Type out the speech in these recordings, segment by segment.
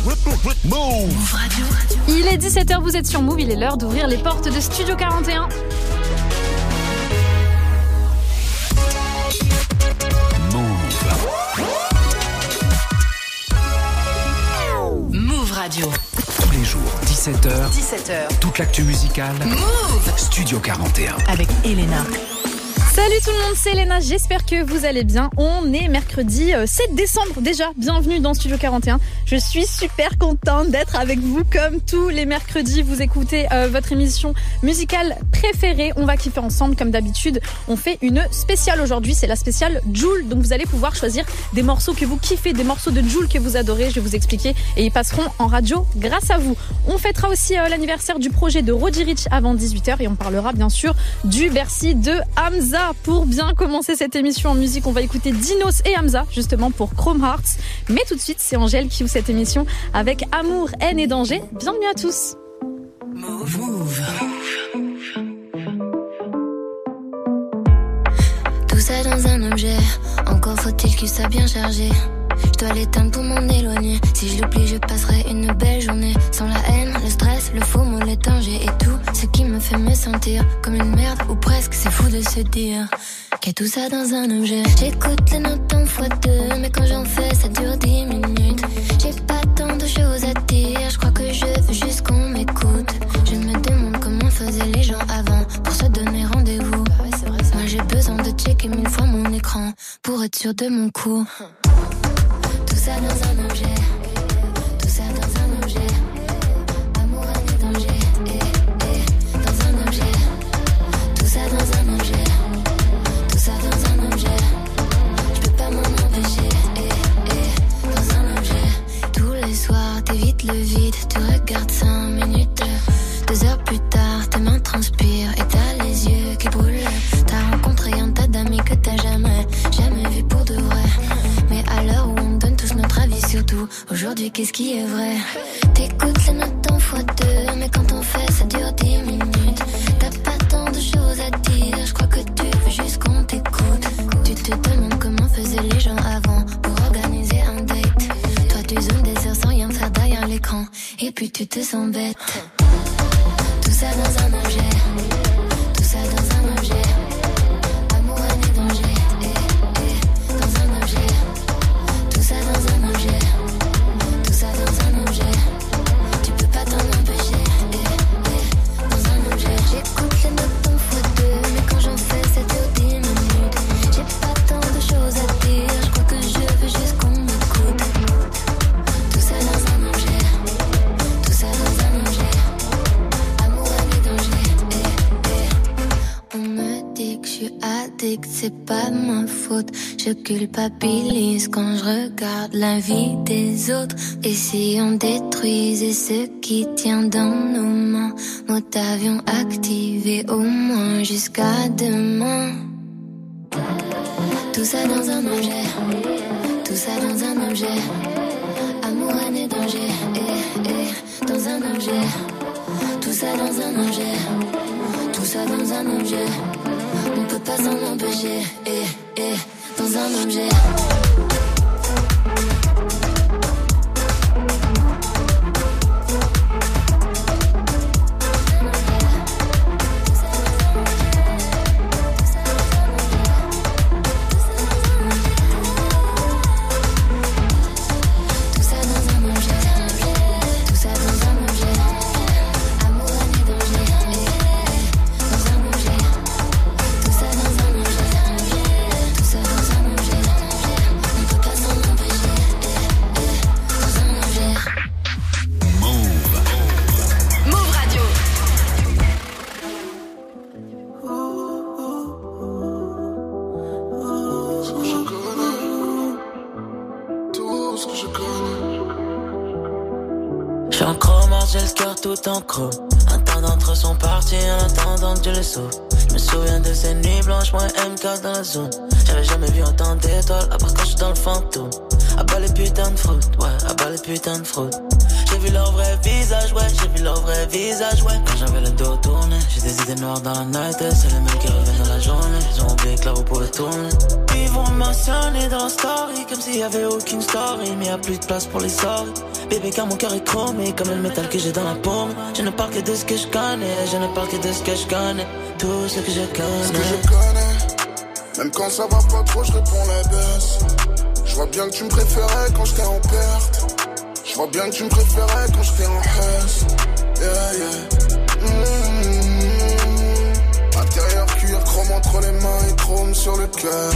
Move Radio. Il est 17h, vous êtes sur Move, il est l'heure d'ouvrir les portes de Studio 41. Move Radio. Tous les jours, 17h, toute l'actu musicale. Move Studio 41. avec Elena. Salut tout le monde, c'est Elena, j'espère que vous allez bien. On est mercredi 7 décembre déjà, bienvenue dans Studio 41. Je suis super contente d'être avec vous comme tous les mercredis. Vous écoutez votre émission musicale préférée. On va kiffer ensemble comme d'habitude. On fait une spéciale aujourd'hui, c'est la spéciale Jul. Donc vous allez pouvoir choisir des morceaux que vous kiffez, des morceaux de Jul que vous adorez. Je vais vous expliquer et ils passeront en radio grâce à vous. On fêtera aussi l'anniversaire du projet de Roddy Ricch avant 18h et on parlera bien sûr du Bercy de Hamza. Pour bien commencer cette émission en musique, on va écouter Dinos et Hamza, justement pour Chrome Hearts. Mais tout de suite, c'est Angèle qui ouvre cette émission avec Amour, haine et danger. Bienvenue à tous. Move. Tout ça dans un objet, encore faut-il qu'il soit bien chargé. Je dois l'éteindre pour m'en éloigner. Si je l'oublie, je passerai une belle journée. Sans la haine, le stress, le faux mot, les dangers et tout ce qui me fait me sentir comme une merde ou presque. C'est fou de se dire qu'il y a tout ça dans un objet. J'écoute les notes en x2, mais quand j'en fais, ça dure 10 minutes. J'ai pas tant de choses à dire, je crois que je veux juste qu'on m'écoute. Je me demande comment faisaient les gens avant pour se donner rendez-vous. Moi j'ai besoin de checker 1000 fois mon écran pour être sûr de mon coup. Tout ça dans un objet, tout ça dans un objet. Amour, haine et danger, dans un objet. Tout ça dans un objet, tout ça dans un objet. Je peux pas m'en empêcher, dans un objet. Tous les soirs, t'évites le vide, tu regardes 5 minutes. 2 heures plus tard, tes mains transpirent et t'as les yeux qui brûlent. T'as rencontré un tas d'amis que t'as jamais vu pour de vrai. Mais à l'heure où on donne tous notre avis sur tout, aujourd'hui qu'est-ce qui est vrai? T'écoutes les notes en x2, mais quand on fait ça dure 10 minutes. T'as pas tant de choses à dire, je crois que tu veux juste qu'on t'écoute. Tu te demandes comment faisaient les gens avant pour organiser un date. Toi tu zoomes des heures sans rien faire derrière l'écran, et puis tu te sens bête. Tout ça dans un objet, tout ça dans un objet. Amour, haine et danger, dans un objet. Tout ça dans un objet, tout ça dans un objet. Tu peux pas t'en empêcher, dans un objet. J'écoute les notes en x2, mais quand j'en fais ça dure 10 minutes. J'ai pas tant de choses à dire, je crois que je veux juste qu'on m'écoute. Tout ça dans un objet, tout ça dans un objet. Amour, haine et danger, On me dit que je suis addict, c'est pas ma faute. Je culpabilise quand je regarde la vie des autres. Et si on détruisait ce qui tient dans nos mains, mode avion activé au moins jusqu'à demain. Tout ça dans un objet, tout ça dans un objet. Amour, haine et danger, dans un objet. Tout ça dans un objet, tout ça dans un objet. On peut pas s'en empêcher, dans un objet. Tout en chrome. Un temps d'entre eux sont partis en attendant que Dieu les sauve. Je me souviens de ces nuits blanches, moi MK dans la zone. J'avais jamais vu autant d'étoiles, à part quand je suis dans le fantôme. À bas les putains de fruits, ouais, à bas les putain de fraude. J'ai vu leur vrai visage, ouais, j'ai vu leur vrai visage, ouais. Quand j'avais le dos tourné, j'ai des idées noires dans la night. C'est les mecs qui reviennent dans la journée, ils ont oublié que là vous pouvez tourner. Ils vont mentionner dans la story, comme s'il y avait aucune story. Mais y'a plus de place pour les sorties. Bébé car mon cœur est chromé, comme le métal que j'ai dans la paume. Je ne parle que de ce que je connais, je ne parle que de ce que je connais. Tout ce que je connais. Ce que je connais, même quand ça va pas trop, je réponds la baisse. Je vois bien que tu me préférais quand j'étais en perte. Je vois bien que tu me préférais quand j'étais en hausse. Yeah, yeah. Intérieur cuir, chrome entre les mains et chrome sur le cœur.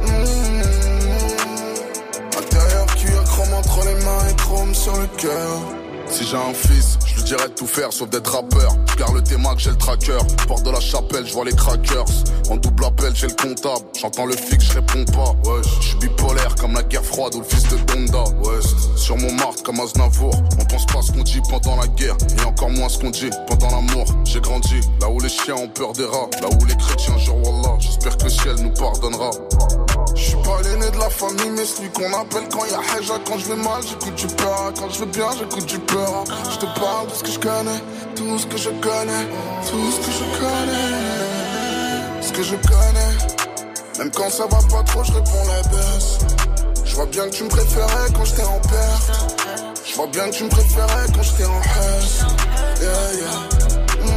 Intérieur cuir, chrome entre les mains et chrome sur le cœur. Si j'ai un fils, je lui dirais de tout faire sauf d'être rappeur. Je garde le T-Mac, j'ai le tracker. Porte de la chapelle, je vois les crackers. En double appel, j'ai le comptable. J'entends le fixe, je réponds pas. Ouais, je suis bipolaire comme la guerre froide ou le fils de Donda. Ouais, sur Montmartre comme Aznavour. On pense pas ce qu'on dit pendant la guerre et encore moins ce qu'on dit pendant l'amour. J'ai grandi là où les chiens ont peur des rats, là où les chrétiens jurent Wallah. J'espère que le ciel nous pardonnera. Je suis pas l'aîné de la famille, mais celui qu'on appelle quand y'a Haja. Quand je vais mal, j'écoute du peur. Quand je vais bien, j'écoute du peur. Je te parle de ce que je connais, tout ce que je connais, tout ce que je connais, ce que je connais. Même quand ça va pas trop, je réponds la baisse. Je vois bien que tu me préférais quand j'étais en perte. Je vois bien que tu me préférais quand j'étais en hausse. Yeah, yeah.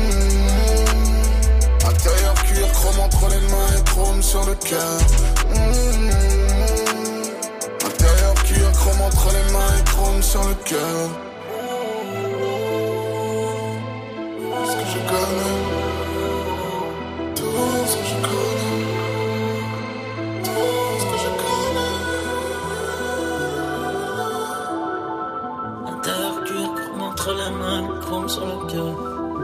Intérieur cuir, chrome entre les mains et chrome sur le cœur. Intérieur cuir, chrome entre les mains et chrome sur le cœur. Ce que je connais, tout ce que je connais, tout ce que je connais. Intérieur cuir, chrome entre les mains, chrome sur le cœur.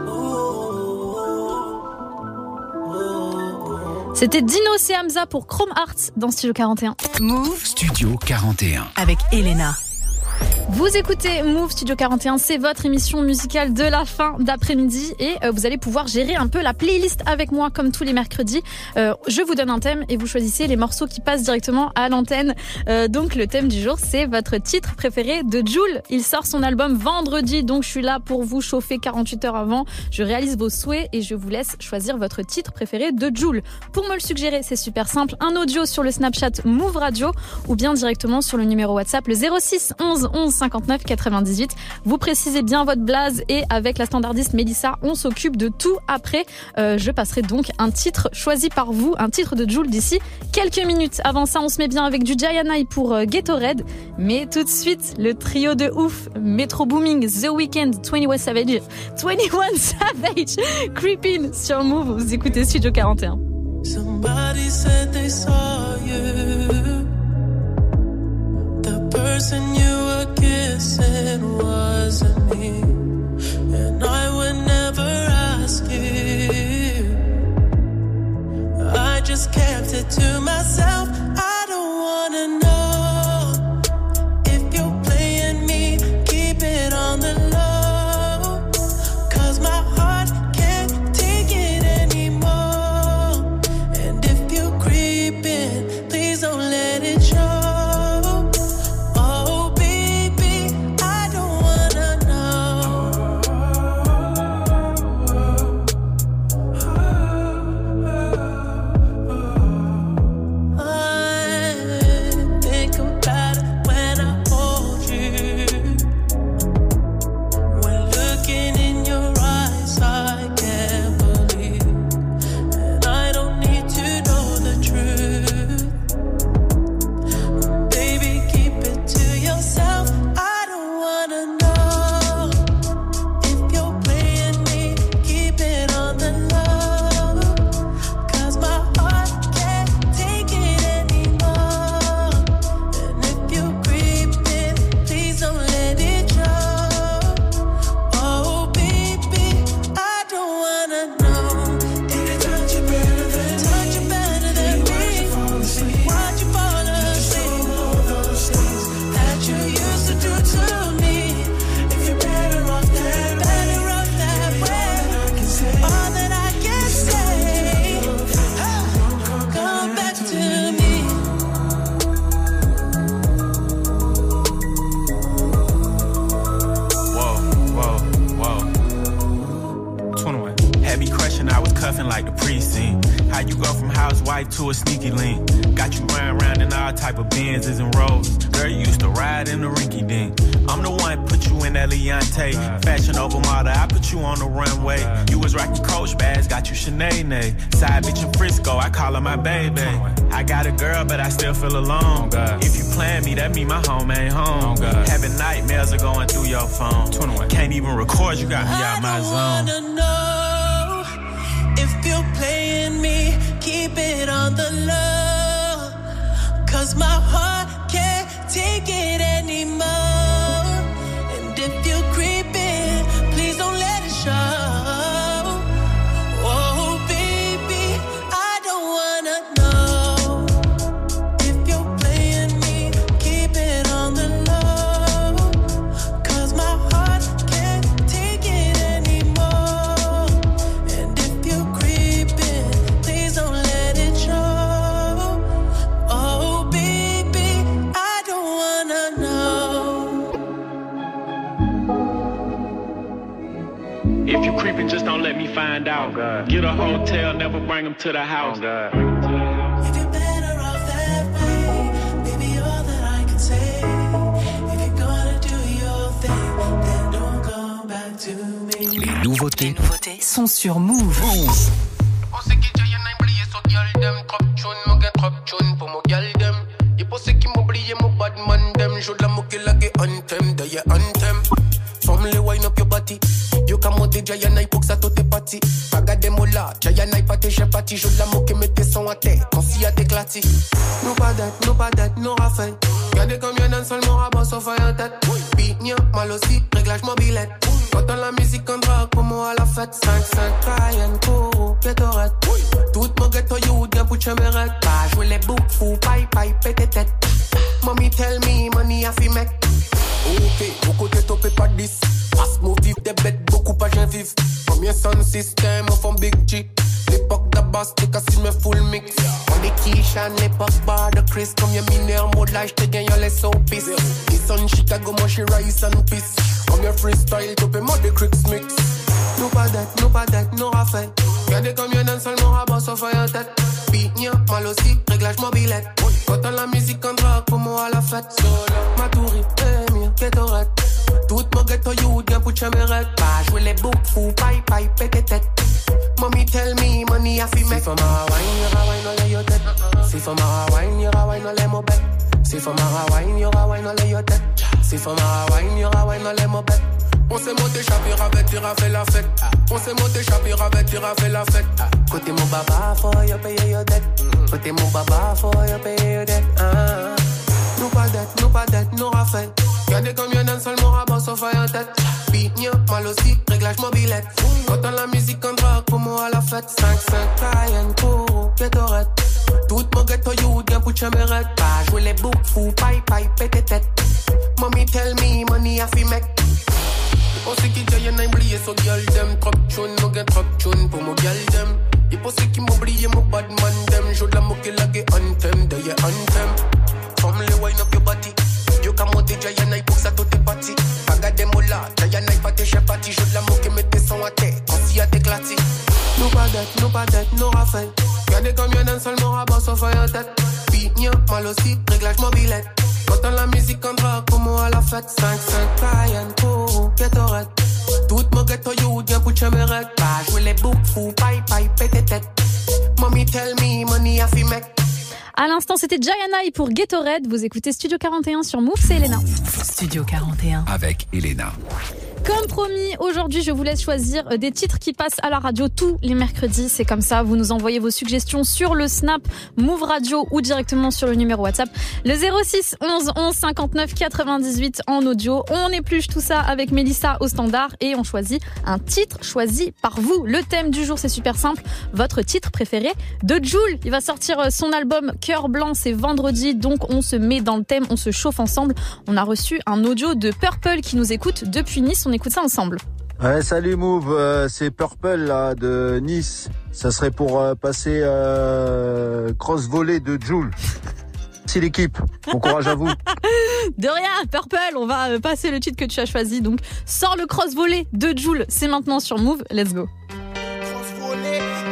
C'était Dinos et Hamza pour Chrome Hearts dans Studio 41. Move Studio 41. avec Elena. Vous écoutez Move Studio 41, c'est votre émission musicale de la fin d'après-midi et vous allez pouvoir gérer un peu la playlist avec moi comme tous les mercredis. Je vous donne un thème et vous choisissez les morceaux qui passent directement à l'antenne. Donc le thème du jour, c'est votre titre préféré de Jul. Il sort son album vendredi, donc je suis là pour vous chauffer 48 heures avant. Je réalise vos souhaits et je vous laisse choisir votre titre préféré de Jul. Pour me le suggérer, c'est super simple, un audio sur le Snapchat Move Radio ou bien directement sur le numéro WhatsApp le 06 11 11 59 98. Vous précisez bien votre blaze et avec la standardiste Mélissa, on s'occupe de tout après. Je passerai donc un titre choisi par vous, un titre de Jul d'ici quelques minutes. Avant ça, on se met bien avec du Gianni pour Ghetto Red. Mais tout de suite, le trio de ouf, Metro Booming, The Weeknd, 21 Savage, Creepin' sur Move. Vous écoutez Studio 41. Somebody said they saw you. The person you were kissing wasn't me, and I would never ask you. I just kept it to myself. I don't wanna know if you're playing me. Keep it on the low, 'cause my heart can't take it anymore. And if you're creeping, please don't let it show. Oh, life to a sneaky link. Got you riding around in all type of Benzes and Rolls. Girl, you used to ride in the rinky dink. I'm the one put you in that Leontay. Fashion over model, I put you on the runway. You was rocking Coach bags, got you Sinead. Side bitch in Frisco, I call her my baby. I got a girl, but I still feel alone. If you plan me, that mean my home ain't home. Having nightmares are going through your phone. Can't even record, you got me out my zone. I wanna know if you're playing me, keep it on the low. 'Cause my heart can't take it anymore. And if you're creeping, please don't let it show. Oh baby, I don't wanna know if you're playing me, keep it on the low. 'Cause my heart can't take it anymore. And if you're creeping, please don't let it show. Oh baby, I don't wanna know. If you creeping, just don't let me find out. Get a hotel, never bring them to the house. If you're better off that way, baby, all that I can say. If you're gonna do your thing, then don't come back to me. Les nouveautés Sont sur Move. On sait qui j'ai y'en a oublié sur gyal dem. Trop tune, mo gen trop tune pour mo gyal dem. Y'a pas ceux qui m'oublié mon bad man dem. Joue de la moque la ge anthem, de y'a anthem. Forme le wind up your body. You can monter Jayanai pour que ça tout est parti. Regardez moi là, Jayanai pas tes j'ai parti. Joue de la moque et mets tes sons à terre. Quand s'y a t'éclaté. Nous pas d'être, nous raffaire. Regardez comme y'en a un seul mot rabat sauf à en tête. Pignon, mal aussi, réglage mobilette. Quand on la musique en drague, pour moi à la fête. 5-5, Cayenne, Kourou, Gatorade. Toute mon ghetto you, bien pour chemerette. Pas jouer les boucs, fou, paille, pété tête. Mommy tell me, money a fi mec. Ok, beaucoup de topé pas 10. Fast move, vive des bêtes, beaucoup pas j'en vive. Combien son système, on fait big G. L'époque d'Abbas, t'es cassé me full mix. On est Kishan, l'époque bar de Chris. Comme y'a mineur, mode là, j'te gagne les soapies. Ils sont Chicago, moi j'suis Rice and Peace. Comme y'a freestyle, topé moi des Cricks mix. Nous pas d'être, nous raffaire. Regardez comme y'en a un seul mot rabat sauf à en tête. Pignon, mal aussi, réglage mobilette. Quand on la musique en drague, pour moi à la fête. Matouri, Emir, Gatorade. Toute mon ghetto you, bien pour chemerette. Pas jouer les boucs, fou, paille, pété tête. Mommy tell me, money a fi make. Si for my wine, y'aura wine, on lay your tête. Si for my wine, y'aura wine, on lay mon bête. Si for my wine, y'aura wine, on lay your tête. Si for my wine, y'aura wine, on lay mon bête. On s'est monté, chapira, tira, fait la fête. On s'est monté, chapira, tira, fait la fête. Côté mon baba, faut y'a payer your dette. Côté mon baba, faut y'a payer your dette. Nous pas d'être, nous raffaire. Regardez comme y'en a un seul mot rabat sauf à en tête. Pignon, mal aussi, réglage mobilette. Quand on la musique en drague, pour moi à la fête. 5-5, Cayenne, Kourou, Gatorade. Toute mon ghetto you, bien pour chemerette. Pas jouer les boucs, fou, paille, pété tête. Mommy tell me, money a fi make. On sait qui j'ai y'en a oublié sur gyal dem. Trop tune, mo gen trop tune pour mo gyal dem. Y'a pas ceux qui m'oublié mon bad man dem. Joue de la moque la ge anthem, de y'a anthem. Forme le wind up your body. You can monter Jayanai pour que ça tout est parti. Regardez moi là, Jayanai pas tes j'ai parti. Joue de la moque et mets tes sons à terre. Quand s'y a t'éclaté. Nous pas d'être, nous raffaire. Regardez comme y'en a un seul mot rabat sauf à en tête. Pignon, mal aussi, réglage mobilette. Quand on la musique en drague, pour moi à la fête. 5-5, Cayenne, Kourou, Gatorade. Toute mon ghetto you, bien pour chemerette. Pas jouer les boucs, fou, paille, pété tête. Mommy tell me, money a fi make. À l'instant, c'était Jayanai pour Gatorade. Vous écoutez Studio 41 sur Move, c'est Elena. Studio 41. avec Elena. Comme promis, aujourd'hui, je vous laisse choisir des titres qui passent à la radio tous les mercredis. C'est comme ça, vous nous envoyez vos suggestions sur le Snap Move Radio ou directement sur le numéro WhatsApp. Le 06 11 11 59 98 en audio. On épluche tout ça avec Mélissa au standard et on choisit un titre choisi par vous. Le thème du jour, c'est super simple. Votre titre préféré de Jul. Il va sortir son album Cœur Blanc, c'est vendredi. Donc, on se met dans le thème, on se chauffe ensemble. On a reçu un audio de Purple qui nous écoute depuis Nice. On écoute ça ensemble. Ouais, salut Move, c'est Purple là de Nice. Ça serait pour passer cross volley de Jul. C'est l'équipe. Bon courage à vous. De rien, Purple, on va passer le titre que tu as choisi. Donc, sors le cross volley de Jul. C'est maintenant sur Move. Let's go. Cross volley,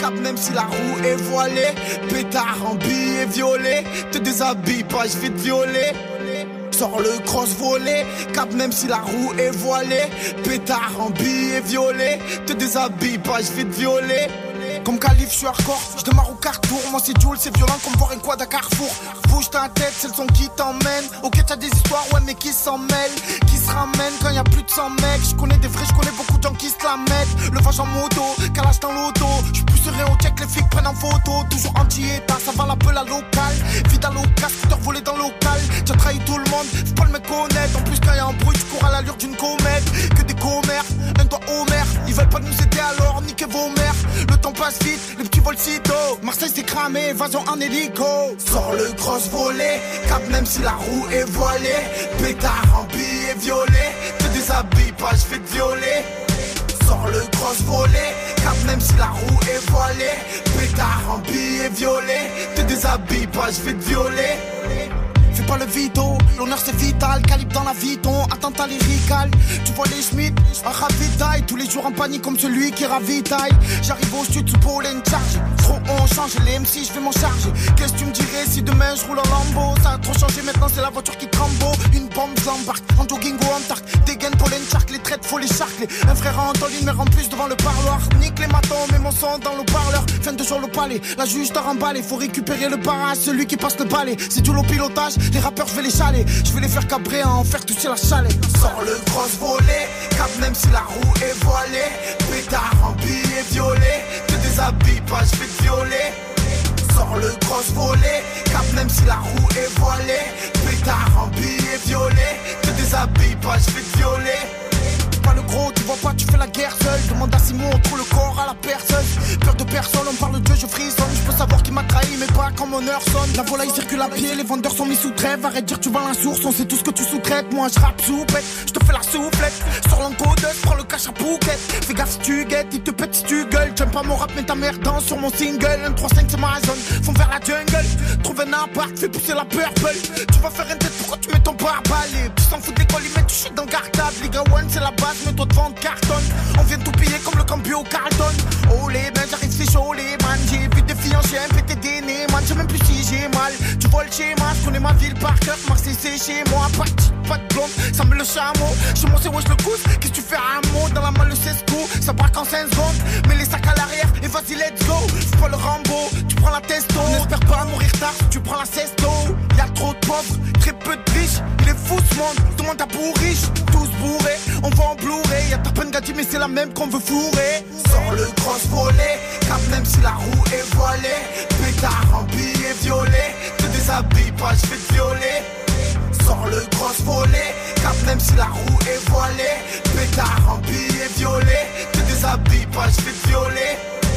cap même si la roue est voilée. Pétard en billet violet, te déshabille pas, je vais te violer. Sors le cross volé, cap même si la roue est voilée. Pétard en billet violet, te déshabille pas, je vais te violer. Comme Calif, je suis hardcore, je démarre au carrefour. Moi c'est Jules, c'est violent comme voir une quad à Carrefour. Bouge ta tête, c'est le son qui t'emmène. Ok t'as des histoires, ouais mais qui s'en mêlent. Qui se ramènent quand y'a plus de 100 mecs. Je connais des vrais, je connais beaucoup de gens qui se la mettent. Le vage en moto, calage dans l'auto. Je plus serein au check, les flics prennent en photo. Toujours anti-état, ça va la peu la locale. Vide à l'occasion, scooter volé dans le local. T'as trahi tout le monde, faut pas le me connaître. En plus quand y'a un bruit, tu cours à l'allure d'une comète. Que des commères, un doigt au maire. Ils veulent pas nous aider alors, niquez vos mères. Le temps passe vite, les petits vols sitôt. Marseille s'est cramé, évasion en hélico. Sors le cross volé, cap même si la roue est voilée. Pétard en billet violet, te déshabille pas, je vais te violer. Sors le cross volé, cap même si la roue est voilée. Pétard en billet violet, te déshabille pas, je vais te violer. Fais pas le vito, l'honneur c'est vital. Calibre dans la viton, attentat lyrical. Tu vois les Schmitt, un ravitaille. Tous les jours en panique comme celui qui ravitaille. J'arrive au sud sous pollen charge. Trop on change, les MC je vais m'en charger. Qu'est-ce que tu me dirais si demain je roule en Lambo? Ça a trop changé maintenant c'est la voiture qui crambo. Une bombe j'embarque, en jogging ou en tark. Dégaine pollen shark, les traites faut les charcler. Un frère en Antoline mais en plus devant le parloir. Nique les matons, mets mon son dans le parleur. Fin de jour le palais, la juge t'a remballé. Faut récupérer le barrage, celui qui passe le balai. C'est tout l'eau-pilotage. Les rappeurs je vais les chaler, je vais les faire cabrer, en faire toucher la chalet. Sors le cross volé, cap même si la roue est voilée. Pétard en billet violet, te déshabille pas, je vais te violer. Sors le cross volé, cap même si la roue est voilée. Pétard en billet violet, te déshabille pas, je vais te violer. Pas le gros, tu vois pas, tu fais la guerre seul. Demande à Simon, on trouve le corps à la personne. Peur de personne, on parle de Dieu, je frissonne. Je peux savoir qui m'a trahi, mais pas quand mon heure sonne. La volaille circule à pied, les vendeurs sont mis sous trêve. Arrête de dire tu vends la source, on sait tout ce que tu sous-traites. Moi je rappe soupette, je te fais la soufflette. Sors l'encodeuse, prends le cash à Phuket. Fais gaffe si tu guettes, il te pète si tu gueules. J'aime pas mon rap, mais ta mère danse sur mon single. 1-3-5 c'est ma zone, font vers la jungle. Trouve un appart, fais pousser la purple. Tu vas faire une tête, pourquoi tu mets ton barbale? Tu s'en fous de l'école, ils mettent du shit dans le cartable. Liga One c'est la base, mais toi de vendre cartonne. On vient tout piller comme le Cambio Carlton. Oh les ben j'arrive c'est chaud les man. J'ai vite des filles en chien, pété des nez man. J'sais même plus si j'ai mal. Tu vois le schéma, j'connais ma ville par cœur. Marseille c'est chez moi, pas de blonde, ça me le chameau. Chez moi c'est wesh le cousse, qu'est-ce que tu fais à un mot? Dans la malle le cesco, ça braque en 5 secondes. Mets les sacs à l'arrière et vas-y let's go. Fais pas le Rambo, tu prends la testo. N'espère pas mourir tard, tu prends la cesto. Y'a trop de pauvres, très peu de riches. Il est fou ce monde, tout le monde a pour riche. Tous bourrés, on va en Blu-ray. Y'a ta peine gâtie mais c'est la même qu'on veut fourrer. Sors le cross volé, cap même si la roue est voilée. Pétard en billet violet, te déshabille pas, je vais te violer. Sors le cross volé, cap même si la roue est voilée. Pétard en billet violet, te déshabille pas, je vais te violer.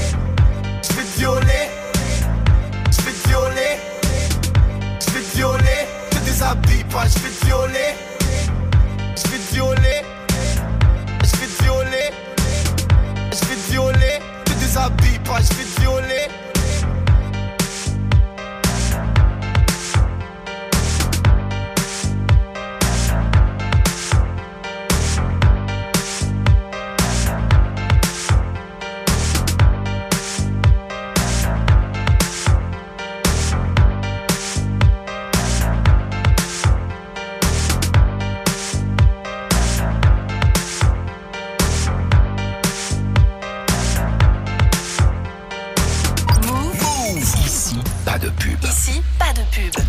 Je vais te violer, je vais te violer, je vais te violer, te déshabille pas, je vais te violer. Je vais te violer, je vais te violer, je vais te violer, te déshabille pas, je vais te violer. Ici, pas de pub.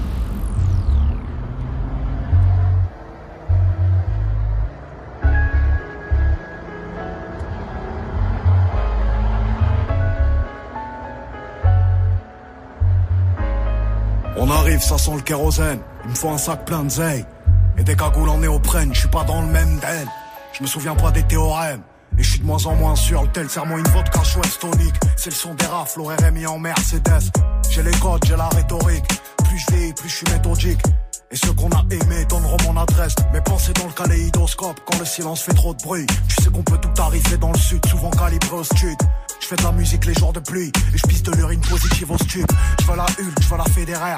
On arrive, ça sent le kérosène. Il me faut un sac plein de zeille et des cagoules en néoprène. Je suis pas dans le même den. Je me souviens pas des théorèmes. Et je suis de moins en moins sûr, le tel serre-moi une vodka Schweppes tonique. C'est le son des rafles, au RMI en Mercedes. J'ai les codes, j'ai la rhétorique. Plus je vieillis, plus je suis méthodique. Et ceux qu'on a aimés donneront mon adresse. Mes pensées dans le kaléidoscope, quand le silence fait trop de bruit. Tu sais qu'on peut tout arriver dans le sud, souvent calibré au stud. Je fais de la musique les jours de pluie, et je pisse de l'urine positive au stud. Je veux la Hulk, je veux la Federer.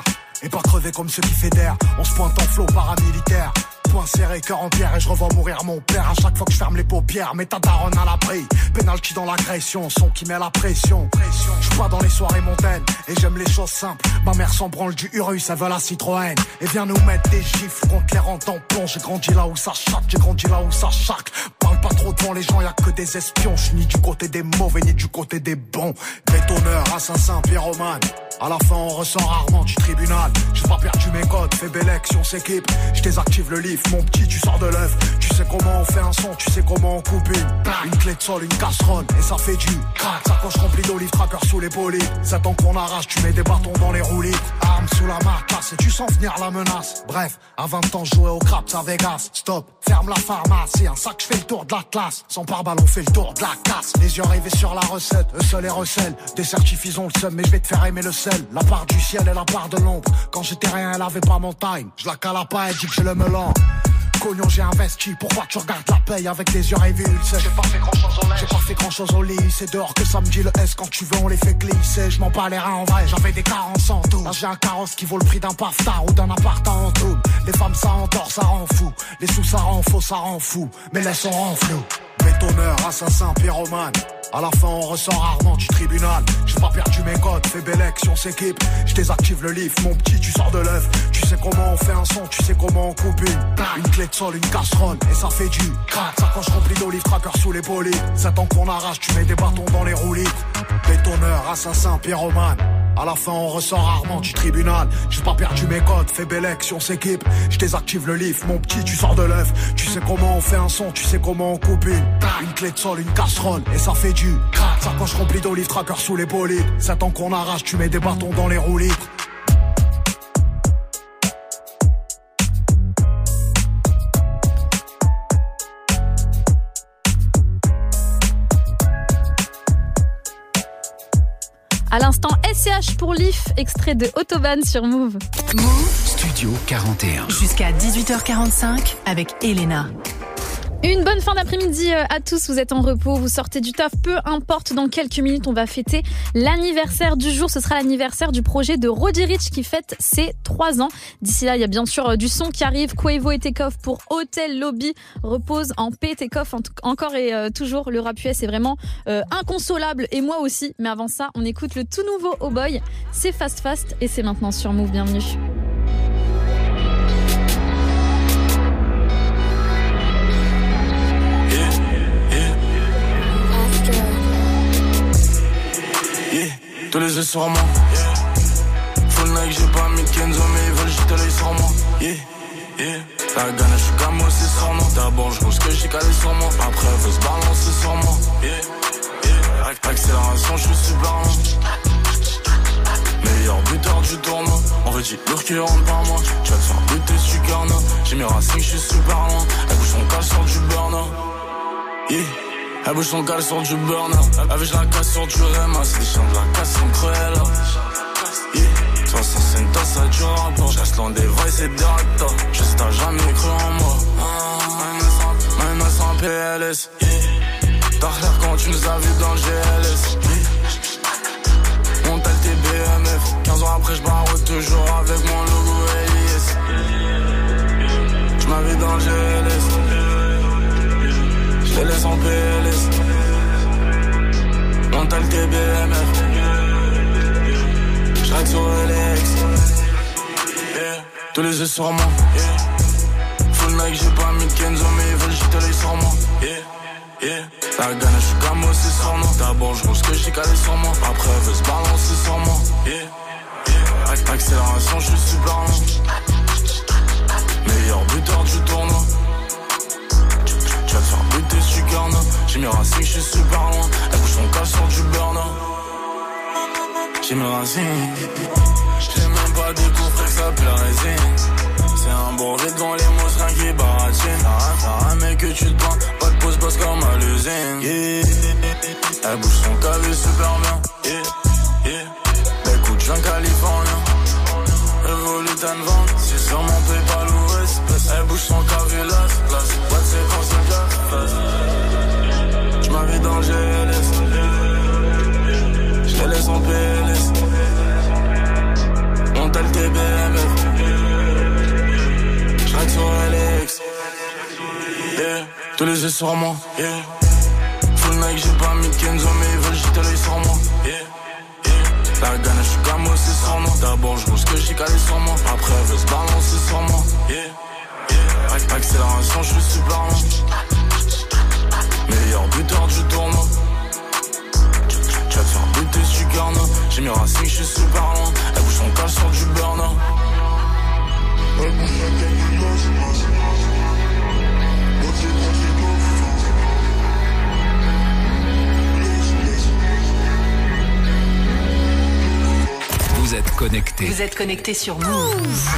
et pas crever comme ceux qui fédèrent. On se pointe en flot paramilitaire. Point serré, cœur en pierre et je revois mourir mon père à chaque fois que je ferme les paupières. Mais ta daronne à l'abri, pénalty dans l'agression, son qui met la pression. Je suis pas dans les soirées montaines et j'aime les choses simples. Ma mère s'en branle du Urus, elle veut la Citroën et vient nous mettre des gifles contre les rangs tampons. J'ai grandi là où ça chatte, j'ai grandi là où ça chaque. Parle pas trop devant les gens, y'a que des espions. Je suis ni du côté des mauvais ni du côté des bons. Bétonneur, assassin, pyromane. À la fin on ressort rarement du tribunal. J'ai pas perdu mes codes, fais Bélec si on s'équipe. Je désactive le lift, mon petit tu sors de l'œuf. Tu sais comment on fait un son, tu sais comment on coupe une clé de sol, une casserole et ça fait du crack. Sacoche remplie d'olive, tracker sous les bolides. 7 ans qu'on arrache, tu mets des bâtons dans les roues libres. Arme sous la marcasse et tu sens venir la menace. Bref, à 20 ans je jouais au craps à Vegas. Stop, ferme la pharmacie, un sac je fais le tour de la classe. Sans pare-balles on fait le tour de la casse. Les yeux rivés sur la recette, eux seuls les recèlent. Des certifs ont le seum mais je vais te faire aimer le sel. La part du ciel et la part de l'ombre. Quand j'étais rien elle avait pas mon time. Je la cala pas, elle dit que j'ai le melon. Cognon j'ai investi, pourquoi tu regardes la paye avec les yeux révulsés? J'ai pas fait grand chose au lait, j'ai pas fait grand chose au lit. C'est dehors que ça me dit le S, quand tu veux on les fait glisser. Je m'en bats les reins en vrai, j'avais des carences en tout. Là j'ai un carrosse qui vaut le prix d'un paftard ou d'un appart en double. Les femmes ça endort, ça rend fou. Les sous ça rend faux, ça rend fou. Mais laisse on rend flou. Bétonneur, assassin, pyromane. À la fin on ressort rarement du tribunal. J'ai pas perdu mes codes, fais Bélec si on s'équipe. Je désactive le lift, mon petit tu sors de l'œuf. Tu sais comment on fait un son, tu sais comment on coupe une clé de sol, une casserole et ça fait du crack. Sacoche remplie d'olive, tracker sous les bolides. 7 ans qu'on arrache, tu mets des bâtons dans les roues libres. Bétonneur, assassin, pyromane. À la fin on ressort rarement du tribunal. J'ai pas perdu mes codes, fais Bélec si on s'équipe. Je désactive le lift, mon petit tu sors de l'œuf. Tu sais comment on fait un son, tu sais comment on coupe une clé de sol, une casserole et ça fait du crack. Sacoche remplie d'olive, tracker sous les bolides. 7 ans qu'on arrache, tu mets des bâtons dans les roues libres. À l'instant, SCH pour Leaf, extrait de Autobahn sur Move. Move Studio 41. Jusqu'à 18h45 avec Elena. Une bonne fin d'après-midi à tous, vous êtes en repos, vous sortez du taf, peu importe, dans quelques minutes on va fêter l'anniversaire du jour, ce sera l'anniversaire du projet de Roddy Ricch qui fête ses 3 ans. D'ici là, il y a bien sûr du son qui arrive, Quavo et Takeoff pour Hotel Lobby, repose en paix, Takeoff encore et toujours, le rap US est vraiment inconsolable et moi aussi, mais avant ça, on écoute le tout nouveau Oh Boy, c'est Fast Fast et c'est maintenant sur Move, bienvenue. Tous les yeux sur moi, full Nike, j'ai pas mis de Kenzo, mais ils veulent jeter l'œil sur moi. La gagne, je suis comme aussi sur moi. D'abord, je vois ce que j'ai calé sur moi. Après, elle veut se balancer sur moi. Accélération, je suis super loin. Meilleur buteur du tournoi. En fait, j'ai lourd qui rentre par moi. Tu vas te faire buter, je suis carnat. J'ai mis Racing, je suis super loin. Elle bouge son cal sur du burner. Elle bouge son cal sur du burner. Avec la casse sur du Rema. C'est des chiens de la casse, c'est une cruelle. 65 tasses, ça du rapport. J'reste loin des vrais, c'est directeur. Juste t'as jamais cru en moi. Maintenant sans PLS. T'as l'air quand tu nous as vus dans le GLS. On t'a le TBMF. 15 ans après, j'barre toujours avec mon logo LIS. J'm'avais dans le GLS. J'les laisse en PLS. On t'a le TBMF. J'règle sur LX. Tous les yeux sur moi. Full Nike, j'ai pas mis de Kenzo, mais ils veulent jeter l'œil sur moi. La gagne, je suis comme aussi sur moi. D'abord, je vois ce que j'ai calé sur moi. Après, elle veut se balancer sur moi. Accélération, je suis super loin. Meilleur buteur du tournoi. Tu vas te faire buter, je suis carnat. J'ai mis Racing, je suis super loin. Elle bouge son cas sur du burner. J'ai mis Racing. J'ai même pas découvert que ça pue la résine. C'est un brevet devant les mots, c'est rien qui baratine. T'as un mec que tu te prends, pas de pause boss comme à l'usine. Elle bouge son cavé super bien. Elle coûte un californien. Evolutan 20, c'est sur mon PayPal ou espèce. Elle bouge son cavé là, pas de séquence de gaffe. J'm'avais dans le GLS. J'les laisse en PLS. On t'a le TBM. tous les yeux sur moi, yeah. Full Nike, j'ai pas mis de Kenzo, mais ils veulent jeter l'œil sur moi, yeah. La gagne, je suis comme aussi sur moi. D'abord, je ce que j'ai calé sur moi. Après, elle veut se balancer sur moi, yeah. Accélération, je suis super loin. Meilleur buteur du tournoi. Tu vas te faire buter, je suis garna. J'ai mis Racing, je suis super loin. Elle bouge son cale sur du burner. Vous êtes connectés. Vous êtes connectés sur Move.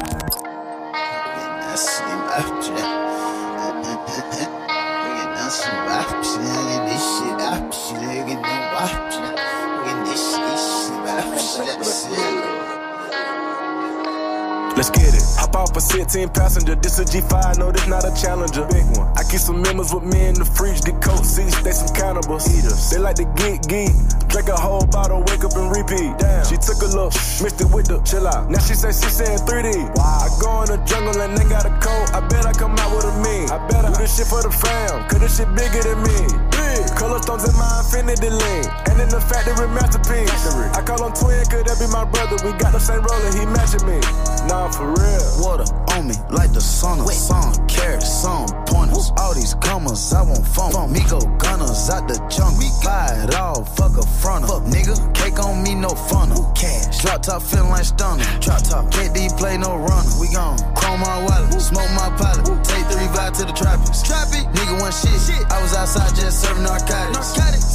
Let's get it. Hop off a 16 passenger. This a G5, no, this not a Challenger. Big one. I keep some members with me in the fridge. The coat seats, they some cannibals. Eaters. They like to geek. Drink a whole bottle, wake up and repeat. Damn. She took a look, mixed it with the chill out. Now she say she saying 3D. Wow. I go in the jungle and they got a coat. I bet I come out with a mean. I bet I do this shit for the fam, cause this shit bigger than me. Big. Color stones in my infinity lane. And in the factory masterpiece. I call him twin, cause that be my brother. We got the same roller, he matching me. Nah, for real. Water on me like the sun of sun. Carrots, some pointers. All these commas, I want fun. Me go gunners out the jungle. Buy it all, fuck a fronter. Fuck nigga, cake on me, no funnel. Cash, drop top feeling like stunner. Drop top, KD play no runner. We gon' chrome my wallet, smoke my pilot. Take 3 vibe to the tropics. Nigga want shit. I was outside just serving narcotics.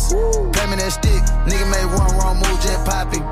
Pay me that stick. Nigga made one wrong move, just popping.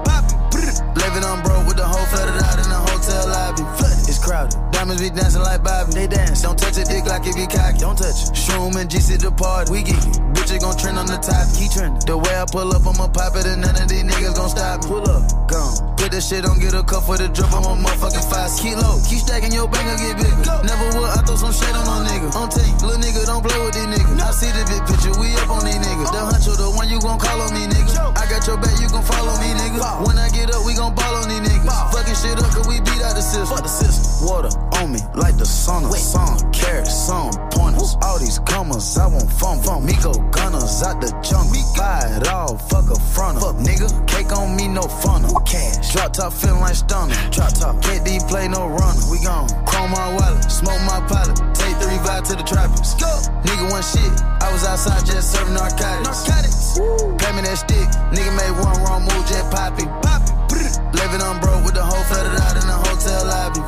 Living on broke with the whole flooded out in the hotel lobby. It's crowded. Diamonds be dancing like Bobby. They dance. Don't touch a dick like it be cocky. Don't touch it. Shroom and GC the party. We geeky. Bitches gon' trend on the top. Keep trending. The way I pull up, I'ma pop it and none of these niggas gon' stop me. Pull up. Gone. Put that shit on, get a cup for the drip. I'm a motherfucking 5. Keep low. Keep stacking your bank and get bigger. Never would. I throw some shade on no nigga. On tape. Little nigga don't play with these niggas. I see the big picture. We up on these niggas. The huncho, the one you gon' call on me, nigga. I got your back, you gon' follow me, nigga. When I get up, we gon' ball on these niggas. Fucking shit up, cause we beat out the system. Fuck the system. Water on me like the sun of sun. Carrots, some pointers. All these commas, I want fun. Me go gunners out the jungle. Buy it all, fuck a fronter. Fuck nigga, cake on me, no funnel. Cash, drop top feeling like stunner. Drop top, KD play no runner. We gon' chrome my wallet, smoke my pilot. Take 3 vibe to the tropics. Go. Nigga want shit. I was outside just serving narcotics. Pay me that stick. Nigga made one wrong move, just popping. Living on broke with the whole flooded out in the hotel lobby.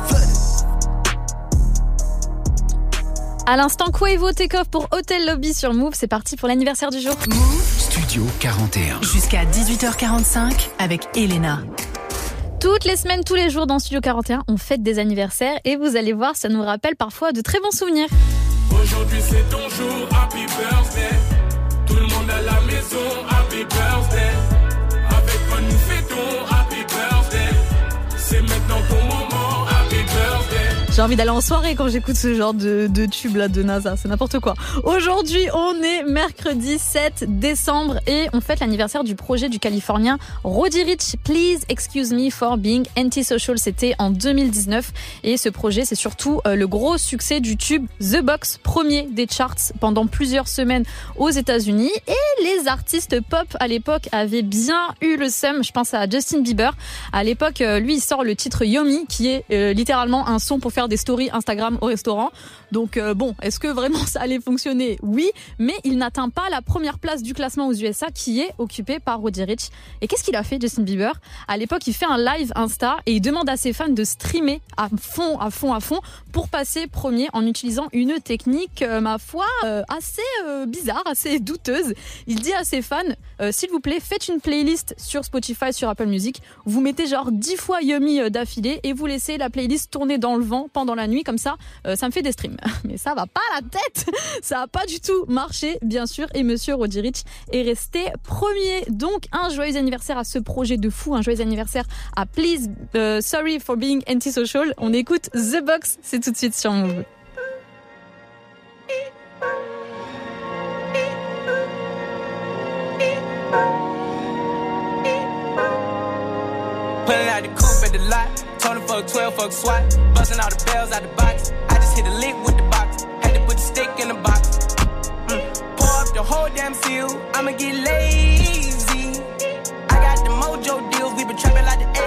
À l'instant, Quavo Takeoff pour Hotel Lobby sur Move. C'est parti pour l'anniversaire du jour. Move Studio 41. Jusqu'à 18h45 avec Elena. Toutes les semaines, tous les jours dans Studio 41, on fête des anniversaires et vous allez voir, ça nous rappelle parfois de très bons souvenirs. Aujourd'hui c'est ton jour, happy birthday. Tout le monde à la maison, happy birthday. Avec moi nous fêtons, happy birthday. C'est maintenant ton moment, happy birthday. J'ai envie d'aller en soirée quand j'écoute ce genre de tube là de NASA, c'est n'importe quoi. Aujourd'hui, on est mercredi 7 décembre et on fête l'anniversaire du projet du Californien Roddy Ricch. Please excuse me for being antisocial. C'était en 2019 et ce projet, c'est surtout le gros succès du tube The Box, premier des charts pendant plusieurs semaines aux États-Unis. Et les artistes pop à l'époque avaient bien eu le seum. Je pense à Justin Bieber. À l'époque, lui, il sort le titre Yomi, qui est littéralement un son pour faire des stories Instagram au restaurant. Donc bon, est-ce que vraiment ça allait fonctionner ? Oui, mais il n'atteint pas la première place du classement aux USA qui est occupée par Roddy Ricch. Et qu'est-ce qu'il a fait, Justin Bieber ? À l'époque, il fait un live Insta et il demande à ses fans de streamer à fond pour passer premier en utilisant une technique, ma foi, assez bizarre, assez douteuse. Il dit à ses fans, s'il vous plaît, faites une playlist sur Spotify, sur Apple Music, vous mettez genre 10 fois Yummy d'affilée et vous laissez la playlist tourner dans le vent pendant la nuit, comme ça me fait des streams. Mais ça va pas à la tête, ça a pas du tout marché, bien sûr, et monsieur Roddy Ricch est resté premier. Donc un joyeux anniversaire à ce projet de fou, un joyeux anniversaire à Please Sorry for Being Antisocial. On écoute The Box, c'est tout de suite sur Move. Pulling out the coupe at the lot. Told him fuck 12, fuck SWAT. Busting all the bells out the box. I just hit a lick with the box. Had to put the stick in the box. up the whole damn seal, I'ma get lazy. I got the mojo deals, we been trapping like the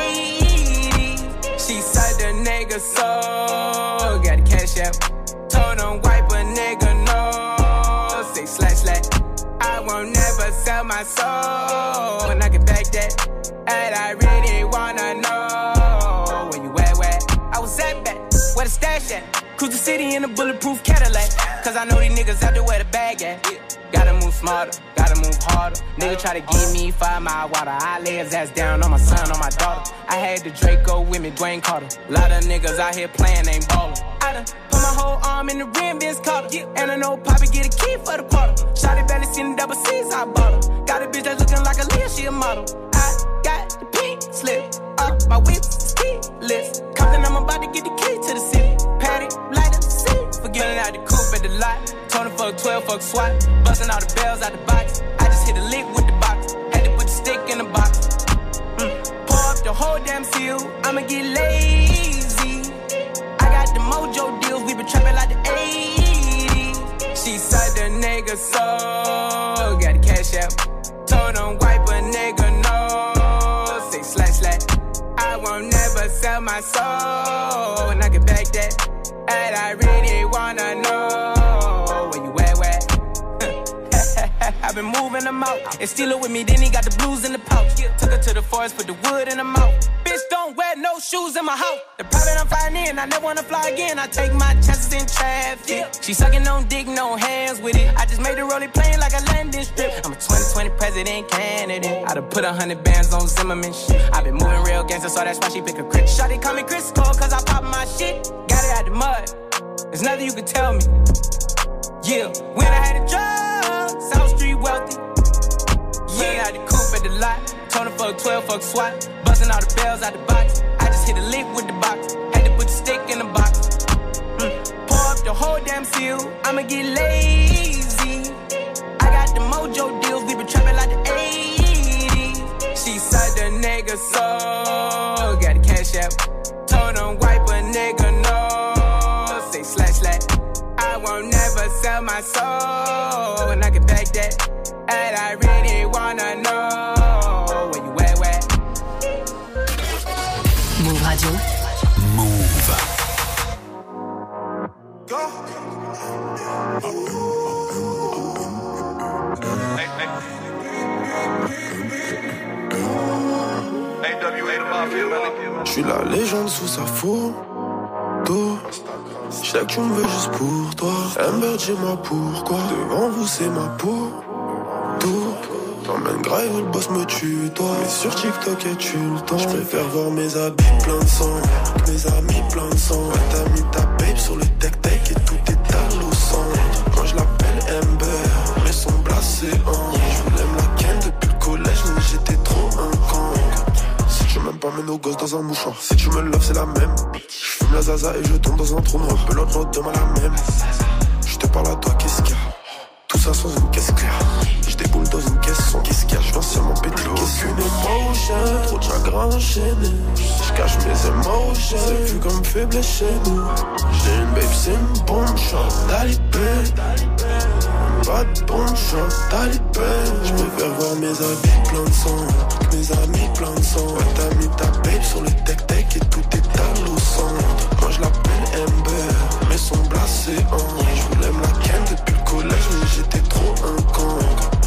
80s. She said the nigga so, got the cash out. Told him wipe a nigga no, say slash slash. I won't never sell my soul, and I can back that. And I really wanna know where you at, where I was at back, where the stash at. Cruise the city in a bulletproof Cadillac, cause I know these niggas out there where the bag at. Gotta move smarter, gotta move harder. Nigga try to give me 5 mile water, I lay his ass down on my son, on my daughter. I had the Draco with me, Dwayne Carter. Lot of niggas out here playing, ain't ballin'. I done put my whole arm in the rim, Vince Carter. And I know Poppy get a key for the quarter. Shotty barely seen the double C's, I bought her. Got a bitch that's looking like a Leah, she a model. I got the pink slip up, my whip is keyless. Compton, I'm about to get the key to the city. Patty, light up the city. Forgetting out the coupe at the lot. Tony fuck 12, fuck SWAT. Busting all the bells out the box. I just hit a lick with the box. Had to put the stick in the box. Pour up the whole damn seal, I'ma get lazy. I got the mojo deals, we been trapping like the 80s. She said the nigga so, got the cash out. Told him wipe a nigga no, say slash slash. I won't never sell my soul, and I can back that. And I really wanna know where you at, where? I've been moving them out, and steal it with me, then he got the blues in the pouch. Took her to the forest, put the wood in her mouth. Bitch, don't wear no shoes in my house. The private I'm flying in, I never wanna fly again. I take my chances in traffic. She sucking on dick, no hands with it. I just made the rolling plane like a landing strip. I'm a 2020 president candidate. I done put 100 bands on Zimmerman shit. I been moving real gangster, so that's why she pick a crit. Shawty call me Chris Cole, cause I pop my shit. Got it out the mud, there's nothing you can tell me. Yeah, when I had a drug, South Street wealthy. Yeah, I had the coupe at the lot. Tony fuck 12, fuck SWAT. Busting all the bells out the box. I just hit a lick with the box. Had to put the stick in the box. Pour up the whole damn seal, I'ma get lazy. I got the mojo deals, we been trapping like the 80s. She said the nigga so, got the cash out. Told him wipe a nigga no, say slash slash. I won't never sell my soul, and I can back that. And I really wanna know where you at, where? Move Radio. Move. Go. Je suis la légende sous sa photo. Je sais que tu me veux juste pour toi. Amber, dis-moi pourquoi. Devant vous, c'est ma peau. T'emmènes grave, le boss me tue, toi. Mais sur TikTok, es-tu le temps? Je préfère voir mes habits plein de sang. Mes amis plein de sang. Ouais, t'as mis ta babe sur le tech-tech et tout est à l'eau sang. Moi, je l'appelle Amber, mais son blasé en. Je voulais me la ken depuis le collège, mais j'étais trop un con. Si tu m'aimes pas, mets nos gosses dans un mouchoir. Si tu me love, c'est la même. Je fume la zaza et je tombe dans un trou noir. Pelote l'autre demain la même. Je te parle à toi, qu'est-ce qu'il y a? Tout ça sans une caisse claire. Je déboule dans une caisse sans qu'est-ce qu'il y a? Je viens seulement péter le caisse. Aucune émotion, trop de chagrin enchaîné. Je cache mes émotions, c'est vu comme faible chez nous. J'ai une babe, c'est une bombe, chante talibé. Pas de bombe, chante talibé. Je préfère voir mes habits plein de sang. Mes amis plein de sang. Ouais, t'as mis ta babe sur le tech-tech et tout est à l'eau sang. Moi je l'appelle Amber, mais son blasé en. Je voulais me la ken depuis le collège, mais j'étais trop un con.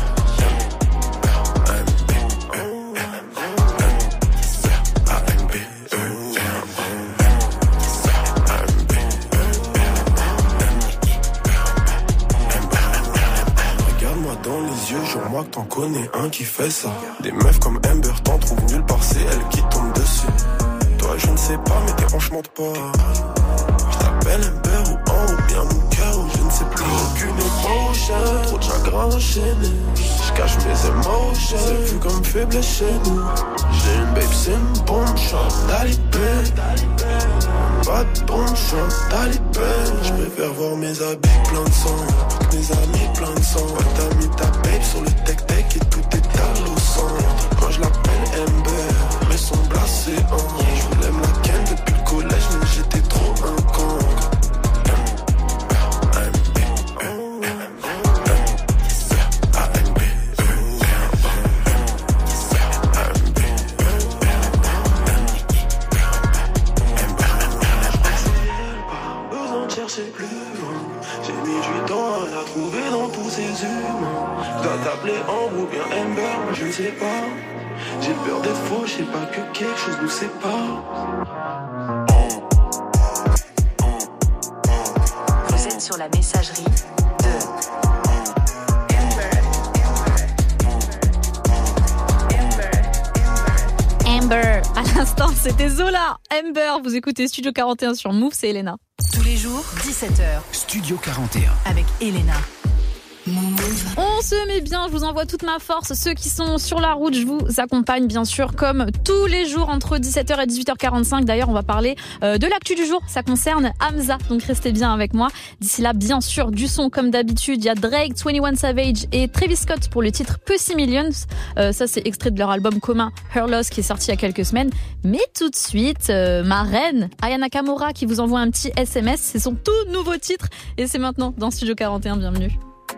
Regarde-moi dans les yeux, jure-moi que t'en connais un qui fait ça. Des meufs comme Amber t'en trouvent nulle part, c'est elle qui tombe dessus. Toi je ne sais pas, mais tes hanches mentent pas. Je t'appelle Amber ou en ou bien mon cœur ou je ne sais plus. Aucune émotion, trop de chagrin enchaîné. Je cache mes émotions, c'est vu comme faible chez nous. J'ai une babe, c'est une bombe, chante talibé. Pas de bombe, chante talibé. Je préfère voir mes habits plein de sang. Mes amis plein de sang. Ouais, t'as mis ta babe sur le tech-tech et tout est à l'eau sang. Moi je l'appelle Amber, mais son blasé en. Je voulais me la ken depuis le collège, mais j'étais trop un con. humains. Je dois t'appeler Ambre ou bien Amber, moi je ne sais pas. J'ai peur d'être faux, je sais pas que quelque chose nous sépare. Vous êtes sur la messagerie de Amber. À l'instant, c'était Zola. Amber, vous écoutez Studio 41 sur Move, c'est Elena. Tous les jours, 17h. Studio 41. Avec Elena. On se met bien, je vous envoie toute ma force. Ceux qui sont sur la route, je vous accompagne bien sûr comme tous les jours entre 17h et 18h45. D'ailleurs, on va parler de l'actu du jour. Ça concerne Hamza, donc restez bien avec moi. D'ici là, bien sûr, du son comme d'habitude. Il y a Drake, 21 Savage et Travis Scott pour le titre Pussy Millions. Ça, c'est extrait de leur album commun Her Loss qui est sorti il y a quelques semaines. Mais tout de suite, ma reine, Aya Nakamura, qui vous envoie un petit SMS. C'est son tout nouveau titre et c'est maintenant dans Studio 41. Bienvenue.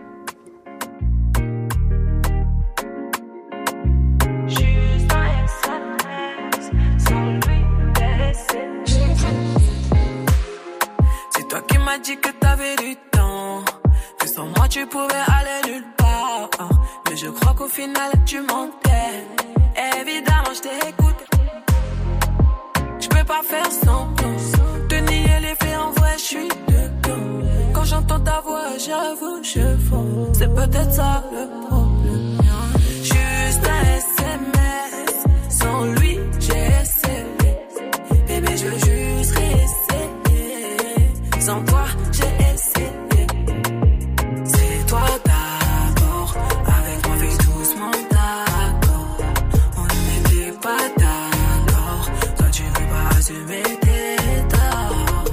Toi qui m'as dit que t'avais du temps, que sans moi tu pouvais aller nulle part. Mais je crois qu'au final tu mentais. Évidemment je t'ai écouté. Je peux pas faire semblant de nier les faits, en vrai je suis dedans. Quand j'entends ta voix j'avoue je fonds. C'est peut-être ça le problème. Juste un SMS, sans lui j'ai essayé. Bébé je veux juste réessayer. Sans toi, j'ai essayé. C'est toi d'abord. Avec moi, fais doucement d'accord. On n'était pas d'accord. Toi, tu veux pas assumer tes torts.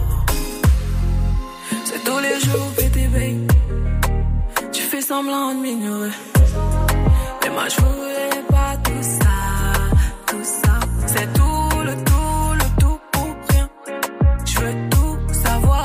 C'est tous les jours, bébé. Tu fais semblant de m'ignorer. Mais moi, je voulais pas tout ça. Tout ça. C'est tout le tout pour rien. Je veux tout savoir.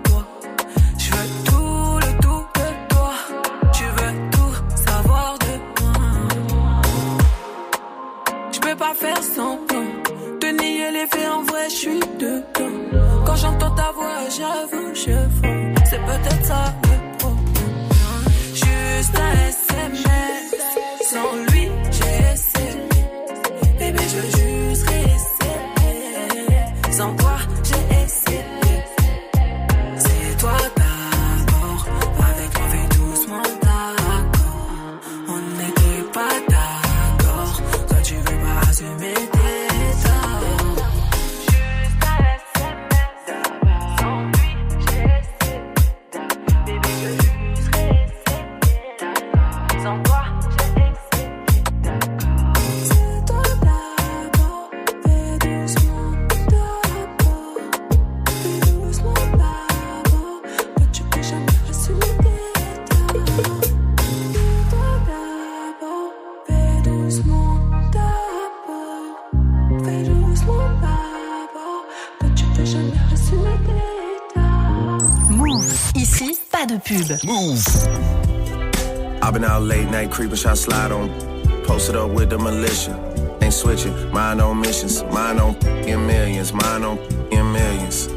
Pas faire semblant de nier les faits, en vrai je suis dedans. Quand j'entends ta voix j'avoue je fonds. C'est peut-être ça le problème. Juste un SMS, sans lui j'ai essayé. Bébé je veux juste réessayer. Sans toi j'ai essayé. C'est toi d'abord. Avec moi fais doucement d'accord. On n'était pas d'accord. Toi tu veux pas assumer tes torts. Juste un SMS, sans lui j'ai essayé. Bébé je veux juste réessayer. Sans toi j'ai essayé. C'est toi d'abord. Fais doucement d'abord. Fais doucement d'abord. Que tu peux jamais assumer tes torts. C'est toi d'abord. Fais doucement d'abord. Fais doucement d'abord. Que tu peux jamais assumer tes torts. Move. Ici, pas de pub. Move. I've been out late night creeping, shot slide on. Posted up with the militia. Ain't switching, mine on missions. Mine on in millions, mine on in millions.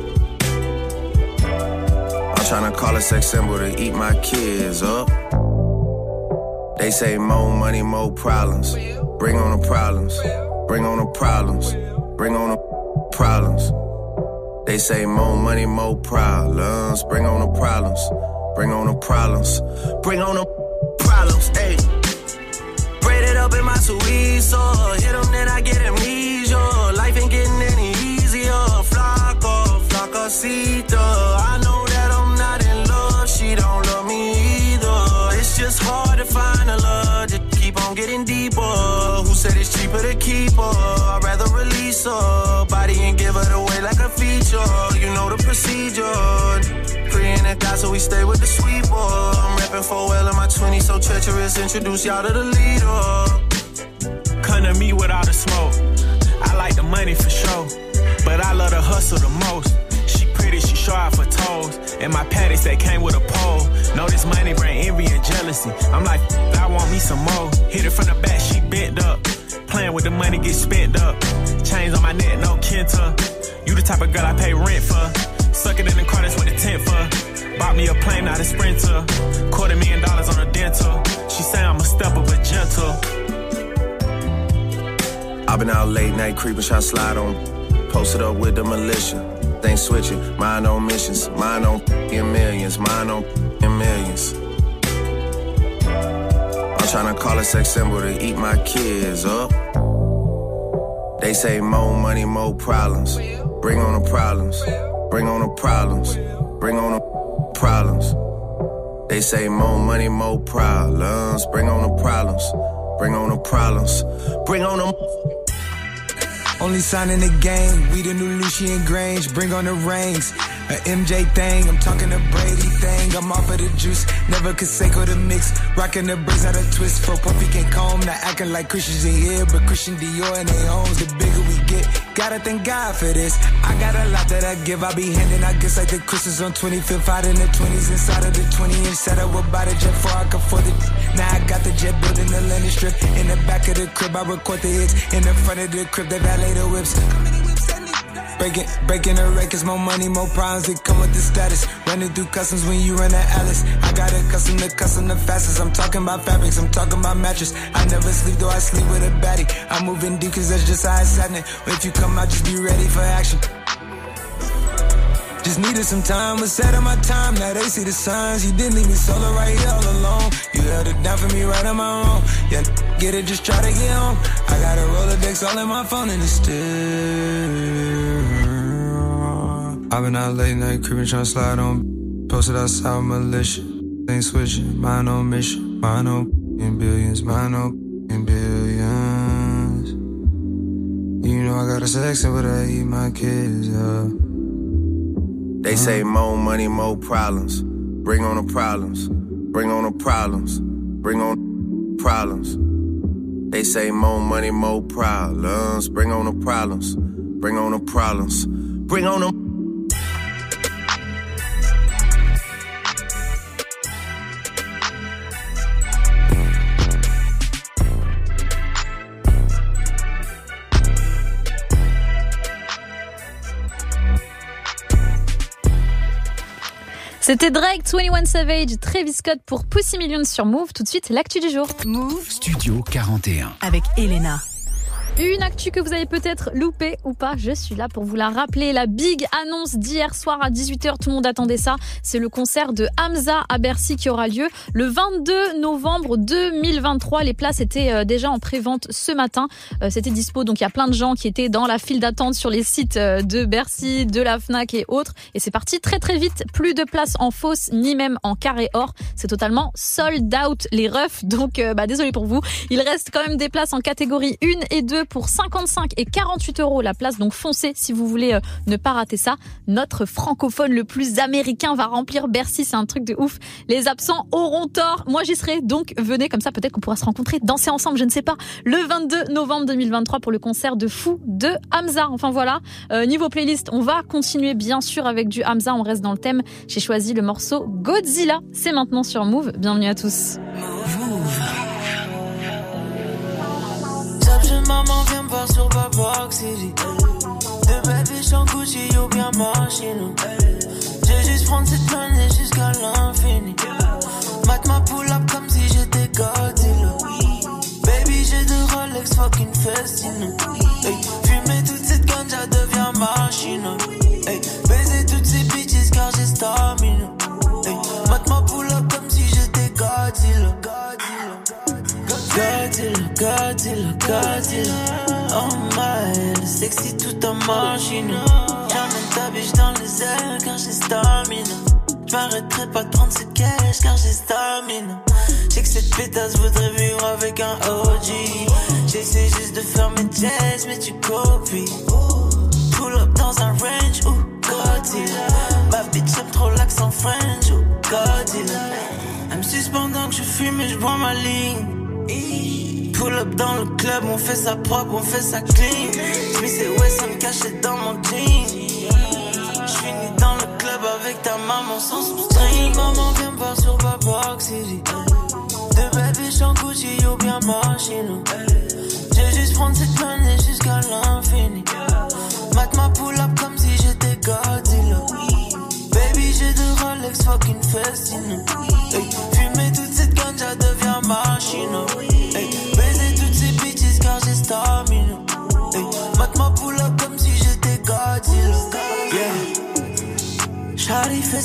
I'm tryna call a sex symbol to eat my kids up. They say more money, more problems. Bring on the problems. Bring on the problems. Bring on the problems. They say more money, more problems. Bring on the problems. Bring on the problems. Bring on the problems. Ayy. Braid it up in my Suizo. Hit them, then I get amnesia. Life ain't getting any easier. Flacosita. I know that I'm not in love. She don't love me either. It's just hard to find a love. Just keep on getting deeper. Who said it's cheaper to keep her? I'd rather release her body and give it away like a feature. You know the procedure. Free in the God, so we stay with the sweeper. I'm reppin' 4L in my 20s, so treacherous. Introduce y'all to the leader. Come to me with all the smoke. I like the money for sure, but I love the hustle the most. She pretty, she show off her toes. And my panties, they came with a pole. Know this money bring envy and jealousy. I'm like, I want me some more. Hit it from the back, she bent up. Playing with the money, get spent up. Chains on my neck, no Kenta. You the type of girl I pay rent for. Suck it in the car, that's what the tent for. Bought me a plane, not a Sprinter. $250,000 on a dental. been out late night creeping, tryna slide on. Posted up with the militia. Ain't switching, mine on missions. Mine on millions, mine on millions. I'm tryna call a sex symbol to eat my kids up. They say more money, more problems. Bring on the problems. Bring on the problems. Bring on the problems. They say more money, more problems. Bring on the problems. Bring on the problems. Bring on them. Only sign in the game, we the new Lucian Grange, bring on the rings. A MJ thing, I'm talking a Brady thing. I'm off of the juice, never Conseco the mix. Rocking the braids out of twist, for Puffy can't comb. Not acting like Christians in here, but Christian Dior and they homes. The bigger we get, gotta thank God for this. I got a lot that I give, I be handing out gifts like the Christmas on 25th. Out in the 20s, inside of the 20-inch setup. About a jet before I could afford it. Now I got the jet building the landing strip. In the back of the crib, I record the hits. In the front of the crib, they valet the whips. Breaking the records, more money, more problems that come with the status. Running through customs when you run the Alice. I got accustomed to custom the fastest. I'm talking about fabrics, I'm talking about mattress. I never sleep, though I sleep with a baddie. I'm moving deep cause that's just how it's happening. If you come out, just be ready for action. Just needed some time, was set on my time. Now they see the signs. You didn't leave me solo right here all alone. You held it down for me right on my own. Yeah, get it, just try to get home. I got a Rolodex all in my phone and it's still. I've been out late night creeping, tryna slide on. Posted outside with militia. Ain't switching, mine on mission. Mine on billions, mine on billions. You know I got a sex but I eat my kids up. They say more money, more problems. Bring on the problems. Bring on the problems. Bring on the problems. They say more money, more problems. Bring on the problems. Bring on the problems. Bring on them. C'était Drake, 21 Savage, Travis Scott pour Pussy Millions sur Move. Tout de suite, l'actu du jour. Move Studio 41 avec Elena. Une actu que vous avez peut-être loupée ou pas, je suis là pour vous la rappeler. La big annonce d'hier soir à 18h, tout le monde attendait ça. C'est le concert de Hamza à Bercy qui aura lieu le 22 novembre 2023. Les places étaient déjà en pré-vente ce matin. C'était dispo, donc il y a plein de gens qui étaient dans la file d'attente sur les sites de Bercy, de la Fnac et autres. Et c'est parti très très vite. Plus de places en fausse, ni même en carré or. C'est totalement sold out les refs. Donc désolé pour vous. Il reste quand même des places en catégorie 1 et 2 pour 55 et 48 € la place, donc foncez si vous voulez ne pas rater ça. Notre francophone le plus américain va remplir Bercy, c'est un truc de ouf. Les absents auront tort, moi j'y serai, donc venez, comme ça peut-être qu'on pourra se rencontrer, danser ensemble, je ne sais pas, le 22 novembre 2023 pour le concert de fou de Hamza. Enfin voilà, niveau playlist, on va continuer bien sûr avec du Hamza, on reste dans le thème. J'ai choisi le morceau Godzilla, c'est maintenant sur Move, bienvenue à tous. Maman vient me voir sur Babak City. De bébé j'en Gucci ou bien machine. J'ai juste prendre cette monnaie jusqu'à l'infini. Mate ma pull up comme si j'étais Godzilla. Baby j'ai deux Rolex fucking festin. Hey, fumer toute cette ganja devient machine. Hey, baiser toutes ces bitches car j'ai stamina. Hey, mate ma pull up comme si j'étais Godzilla. Godzilla, Godzilla, oh my, sexy toute en machine. J'emmène ta biche dans les airs car j'ai stamina. J'm'arrêterai pas de prendre cette cash car j'ai stamina. J'sais que cette pétasse voudrait vivre avec un OG. J'essaie juste de faire mes jazz mais tu copies. Pull up dans un range, ou Godzilla. Ma bitch aime trop l'accent French, ou Godzilla. Elle me suspend que je fume et j'bois ma ligne. Pull up dans le club, on fait ça propre, on fait ça clean. J'mis c'est Wesson caché dans mon jean. J'finis dans le club avec ta maman sans string. Maman vient me voir sur Babak City. De bébé j'en Gucci ou bien machine. J'ai juste prendre cette monnaie jusqu'à l'infini. Mate ma pull up comme si j'étais Godzilla. Baby j'ai deux Rolex fucking festin. Hey, fumer toute cette ganja devient machine. Hey, baiser toutes ces bitches car j'ai stamina.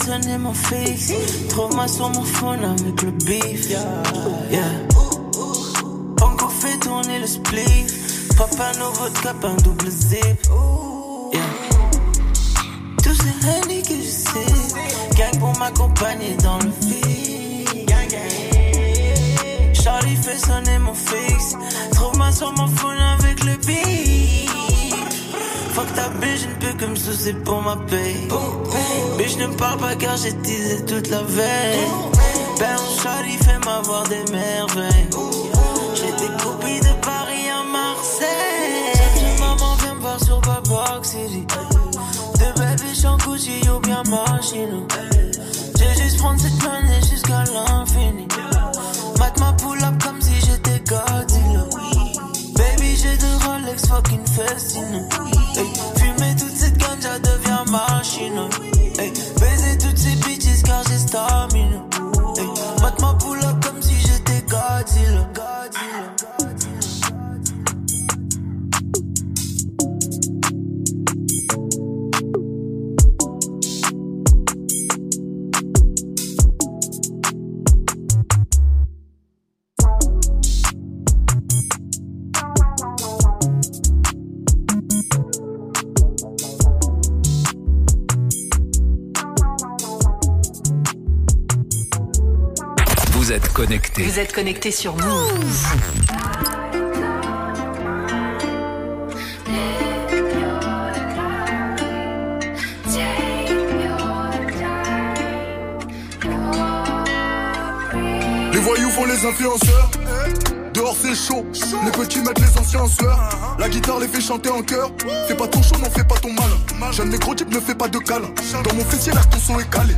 sonner mon fixe. Trouve-moi sur mon phone avec le beef. Yeah. Encore fait tourner le spliff. Papa nouveau de cap, un double zip. Yeah. Tous ces honey que je sais. Gang pour m'accompagner dans le vide. Charlie fait sonner mon fixe. Trouve-moi sur mon phone avec le beat. Fuck ta bitch, je ne peux que me soucier pour ma paye. Bitch ne me parle pas car j'ai teasé toute la veille. Ben Charlie fait m'avoir des merveilles. J'ai des copies de Paris à Marseille. Maman vient me voir sur Babok City. De baby en Gucci ou bien machine. J'ai juste prendre cette monnaie jusqu'à l'infini. Mate ma pull up comme si j'étais Godzilla. Baby j'ai deux Rolex fucking Festino. Hey, fumer toute cette ganja devient machine. Hey, baiser toutes ces bitches car j'ai stamina. Hey, mate ma pull up comme si j'étais Godzilla. Vous êtes connectés. Vous êtes connectés sur Move. Les voyous font les influenceurs. Dehors c'est chaud, les petits mettent les anciens en sueur. La guitare les fait chanter en chœur. Fais pas ton show, n'en fais pas ton mal. Jeune négro type ne fais pas de câlin. Dans mon fessier l'air ton son est calé.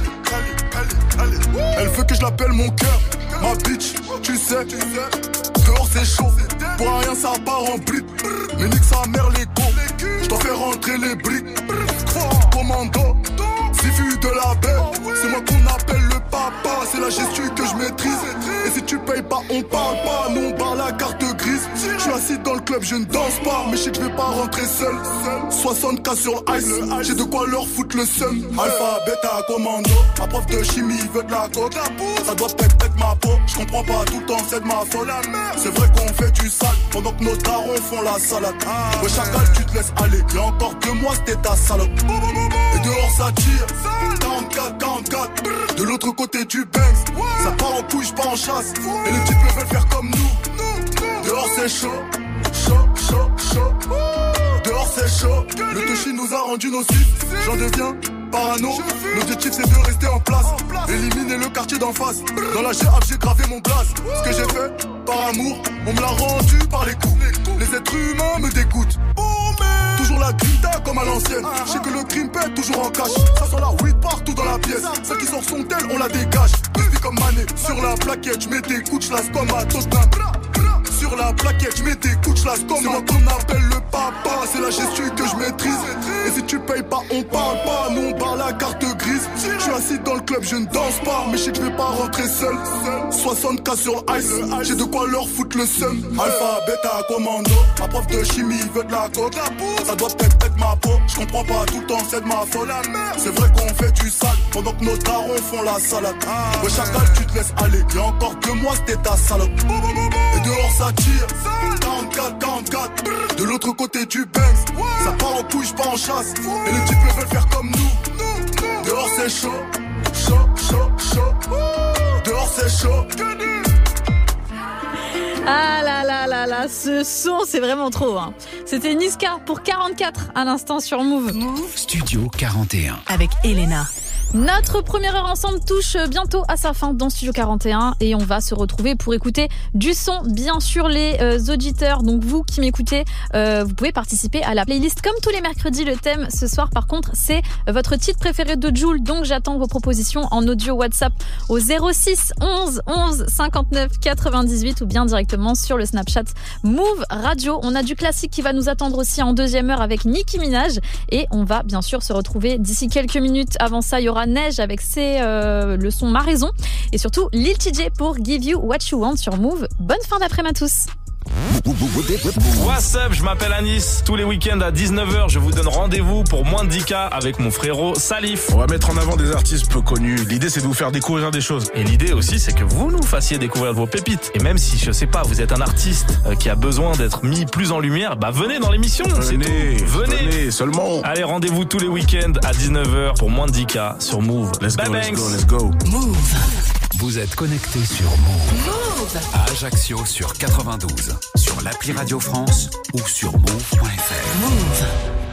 Elle veut que je l'appelle mon cœur. Ma bitch, tu sais. Dehors c'est chaud, pour rien ça part en brique. Mais nique sa mère les go. J'dois faire rentrer les briques. Commando, si vu de la baie. C'est moi qu'on appelle le papa. C'est la gestu que je maîtrise. Et si tu payes pas, on parle pas. Nous on barre la carte grise. Je suis assis dans le club, je ne danse pas. Mais je sais que je vais pas rentrer seul. 60K sur ice, j'ai de quoi leur foutre le seum. Alpha, bêta, commando. Ma prof de chimie veut de la coke. Ça doit peut-être ma peau. Je comprends pas tout le temps, c'est de ma folle. C'est vrai qu'on fait du sale pendant que nos darons font la salade. Ouais, chacal, tu te laisses aller. Y'a encore 2 mois, c'était ta salope. Et dehors ça tire. 44. De l'autre côté du Banks. Ça part en couille, pas en chasse. Et les types veulent faire comme nous. Dehors c'est chaud. Dehors c'est chaud. Le touchy nous a rendu nocifs. J'en deviens parano. L'objectif c'est de rester en place. Éliminer le quartier d'en face. Dans la GAF j'ai gravé mon blaze. Ce que j'ai fait par amour, on me l'a rendu par les coups. Les êtres humains me dégoûtent. Toujours la grinta comme à l'ancienne. Je sais que le crime pète toujours en cash. Ça sent la weed partout dans la pièce. Celle qui sort son tel, on la dégage. Depuis comme Mané, sur la plaquette, je mets des coups, je comme à Tottenham. Sur la plaquette, je mets des coups, je comme c'est moi qu'on appelle le papa. C'est la gestu que je maîtrise. Et si tu payes pas, on parle pas. Nous on barre la carte grise. Je suis assis dans le club, je ne danse pas. Mais je sais que je vais pas rentrer seul. 60K sur ice, j'ai de quoi leur foutre le seum. Alpha, bêta, commando. Ma prof de chimie veut de la coke. Ça doit peut-être être ma peau. Je comprends pas tout le temps, c'est de ma folle. C'est vrai qu'on fait du sale pendant que nos darons font la salade. Ouais, chacal, tu te laisses aller. Y'a encore 2 mois, c'était ta salope. Et dehors ça tire. 44. De l'autre côté du Banks. Ça part en couille, pas en chasse. Et les types veulent faire comme nous. Dehors c'est chaud. Dehors c'est chaud. Ah là là là là, ce son c'est vraiment trop hein. C'était Niska pour 44 à l'instant sur Move. Studio 41 avec Elena. Notre première heure ensemble touche bientôt à sa fin dans Studio 41 et on va se retrouver pour écouter du son. Bien sûr, les auditeurs, donc vous qui m'écoutez, vous pouvez participer à la playlist comme tous les mercredis. Le thème ce soir, par contre, c'est votre titre préféré de Jul. Donc j'attends vos propositions en audio WhatsApp au 06 11 11 59 98 ou bien directement sur le Snapchat Move Radio. On a du classique qui va nous attendre aussi en deuxième heure avec Nicki Minaj et on va bien sûr se retrouver d'ici quelques minutes. Avant ça, il y aura Neige avec le son Ma Raison et surtout Lil TJ pour Give You What You Want sur Move. Bonne fin d'après-midi à tous. What's up, je m'appelle Anis. Tous les week-ends à 19h, je vous donne rendez-vous pour moins de 10K avec mon frérot Salif. On va mettre en avant des artistes peu connus. L'idée, c'est de vous faire découvrir des choses. Et l'idée aussi, c'est que vous nous fassiez découvrir vos pépites. Et même si, je sais pas, vous êtes un artiste qui a besoin d'être mis plus en lumière, bah venez dans l'émission. Venez seulement. Allez, rendez-vous tous les week-ends à 19h pour moins de 10K sur Move. Let's go. Move. Vous êtes connectés sur Move. À Ajaccio sur 92, sur l'appli Radio France ou sur move.fr. Move.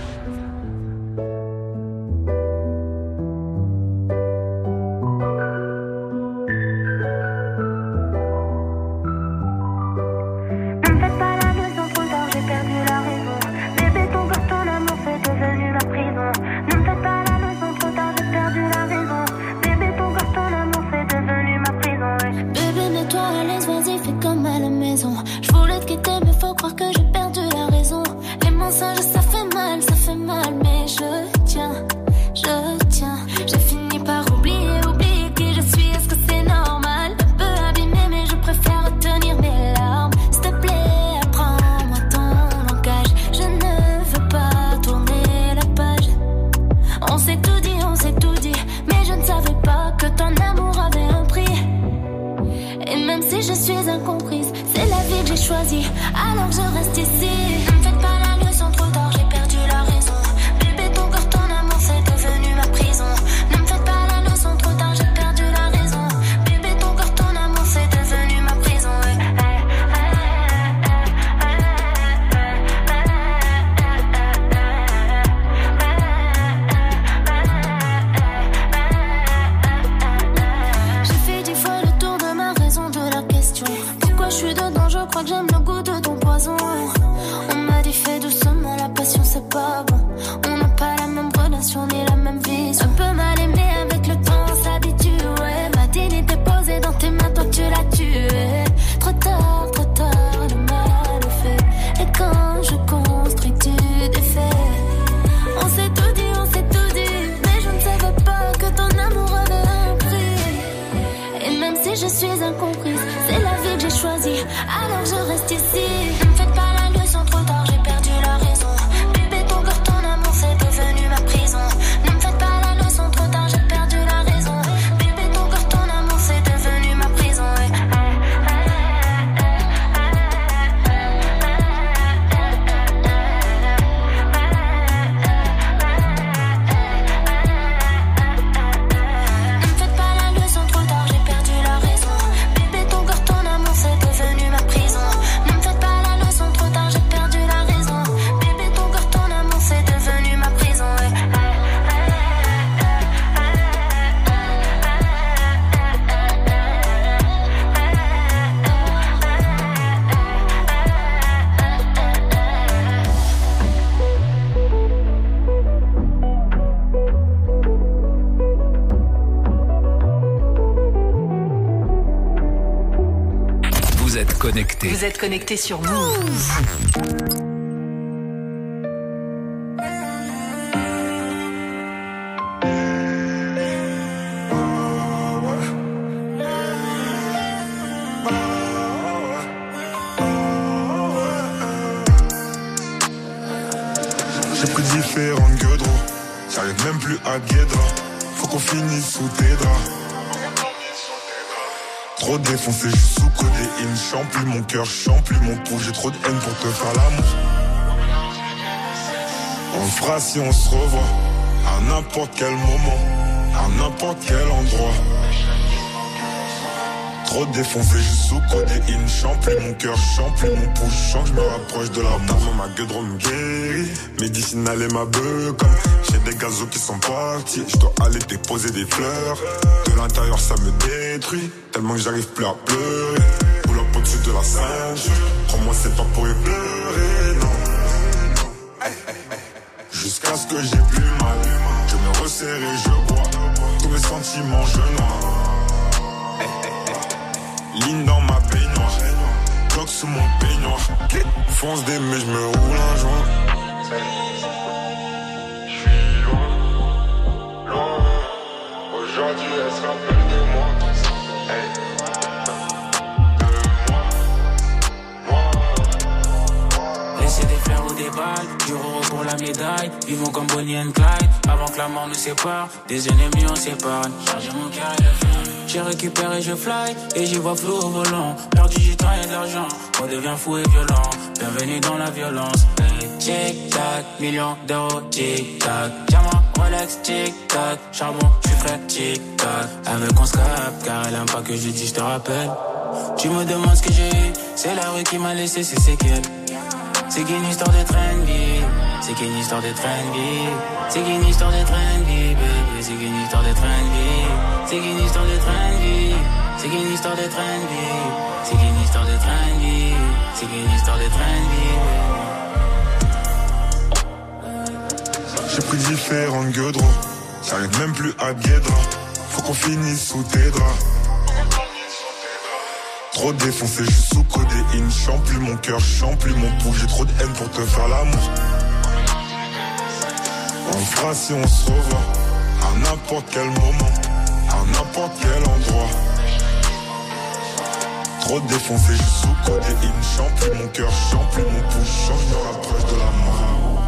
Alors je reste ici. Ne me faites pas la leçon, trop tard, j'ai perdu la raison. Bébé, ton corps, ton amour, c'est devenu ma prison. Ne me faites pas la leçon, trop tard, j'ai perdu la raison. Bébé, ton corps, ton amour, c'est devenu ma prison. J'ai fait 10 fois le tour de ma raison de la question. Pourquoi je suis dedans, je crois que j'aime le goût de ton poison. On m'a dit fais doucement, la passion c'est pas bon. On n'a pas la même relation ni la même vision. Un peu mal aimé, avec le temps on s'habitue. Ouais. Ma dignité posée dans tes mains, toi tu l'as tué. Trop tard, le mal est fait. Et quand je construis, tu défais. On s'est tout dit, mais je ne savais pas que ton amour avait un prix. Et même si je suis incomprise, c'est la vie que j'ai choisie. Alors je reste ici. Ne me faites pas la leçon, trop tard, j'ai perdu la raison. Bébé, ton corps, ton amour, c'est devenu ma prison. Ne me faites pas la leçon, trop tard, j'ai perdu la raison. Bébé, ton corps, ton amour, c'est devenu ma prison. Ne me faites pas la leçon, trop tard, j'ai perdu la raison. Bébé, ton corps, ton amour, c'est devenu ma prison. Ne me faites pas la leçon, trop tard, j'ai perdu la raison. Bébé, ton corps, ton amour, c'est devenu ma prison. Vous êtes connectés. Vous êtes connectés sur Move. J'ai pris différentes gueules, j'arrive même plus à Guédra. Faut qu'on finisse sous tes draps. Trop défoncé, je suis sous codéine. Chante plus mon cœur, chante plus mon pouls. J'ai trop de haine pour te faire l'amour. On le fera si on se revoit. À n'importe quel moment, à n'importe quel endroit. Trop défoncé, je suis sous codéine. Chante plus mon cœur, chante plus mon pouls. Je sens que je me rapproche de la mort. Ma gueule me guérit. Médicinale et ma beuh comme j'ai des gazos qui sont partis. Je dois aller déposer des fleurs. De l'intérieur ça me détruit. Tellement que j'arrive plus à pleurer. Pull up au-dessus de la ceinture. Crois-moi c'est pas pour y pleurer, non. Jusqu'à ce que j'ai plus mal. Je me resserre et je bois. Tous mes sentiments je noie. Ligne dans ma baignoire. Bloc sous mon peignoir. Fonce des mais je me roule un joint. J'suis loin, loin. Aujourd'hui elle se rappelle de moi. De moi, moi. vivons comme Bonnie and Clyde. Avant que la mort nous sépare, des ennemis on s'épargne. Chargez mon cœur et le feu. J'ai récupéré, je fly, et j'y vois flou au volant. Perdu du temps et de l'argent, on devient fou et violent. Bienvenue dans la violence. Hey, tic-tac, millions d'euros, tic-tac. Diamant, Rolex, tic-tac. Charbon, j'suis frais, tic-tac. Avec on scrape, car elle aime pas que je dis je te rappelle. Tu me demandes ce que j'ai eu, c'est la rue qui m'a laissé ses séquelles. C'est qu'une histoire de trendy, c'est qu'une histoire de trendy, c'est qu'une histoire de trendy, baby, c'est qu'une histoire de trendy, c'est qu'une histoire de trendy, c'est qu'une histoire de trendy, c'est qu'une histoire de trendy, c'est qu'une histoire de trendy. J'ai pris différents gueudrons, j'arrive même plus à Guédra, faut qu'on finisse sous tes draps. Trop défoncé, je suis sous codéine, chante plus mon cœur, chante plus mon pouls, j'ai trop de haine pour te faire l'amour. On fera si on se revoit, à n'importe quel moment, à n'importe quel endroit. Trop défoncé, je suis sous codéine, chante plus mon cœur, chante plus mon pouls, je me rapproche de la mort.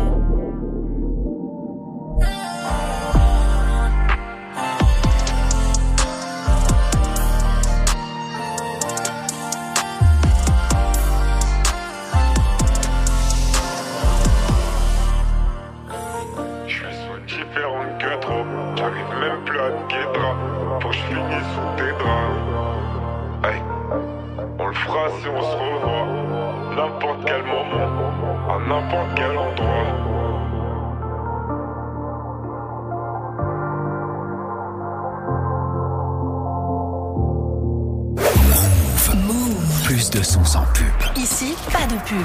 Si on se revoit, n'importe quel moment, à n'importe quel endroit. Move. Plus de sons sans pub. Ici, pas de pub.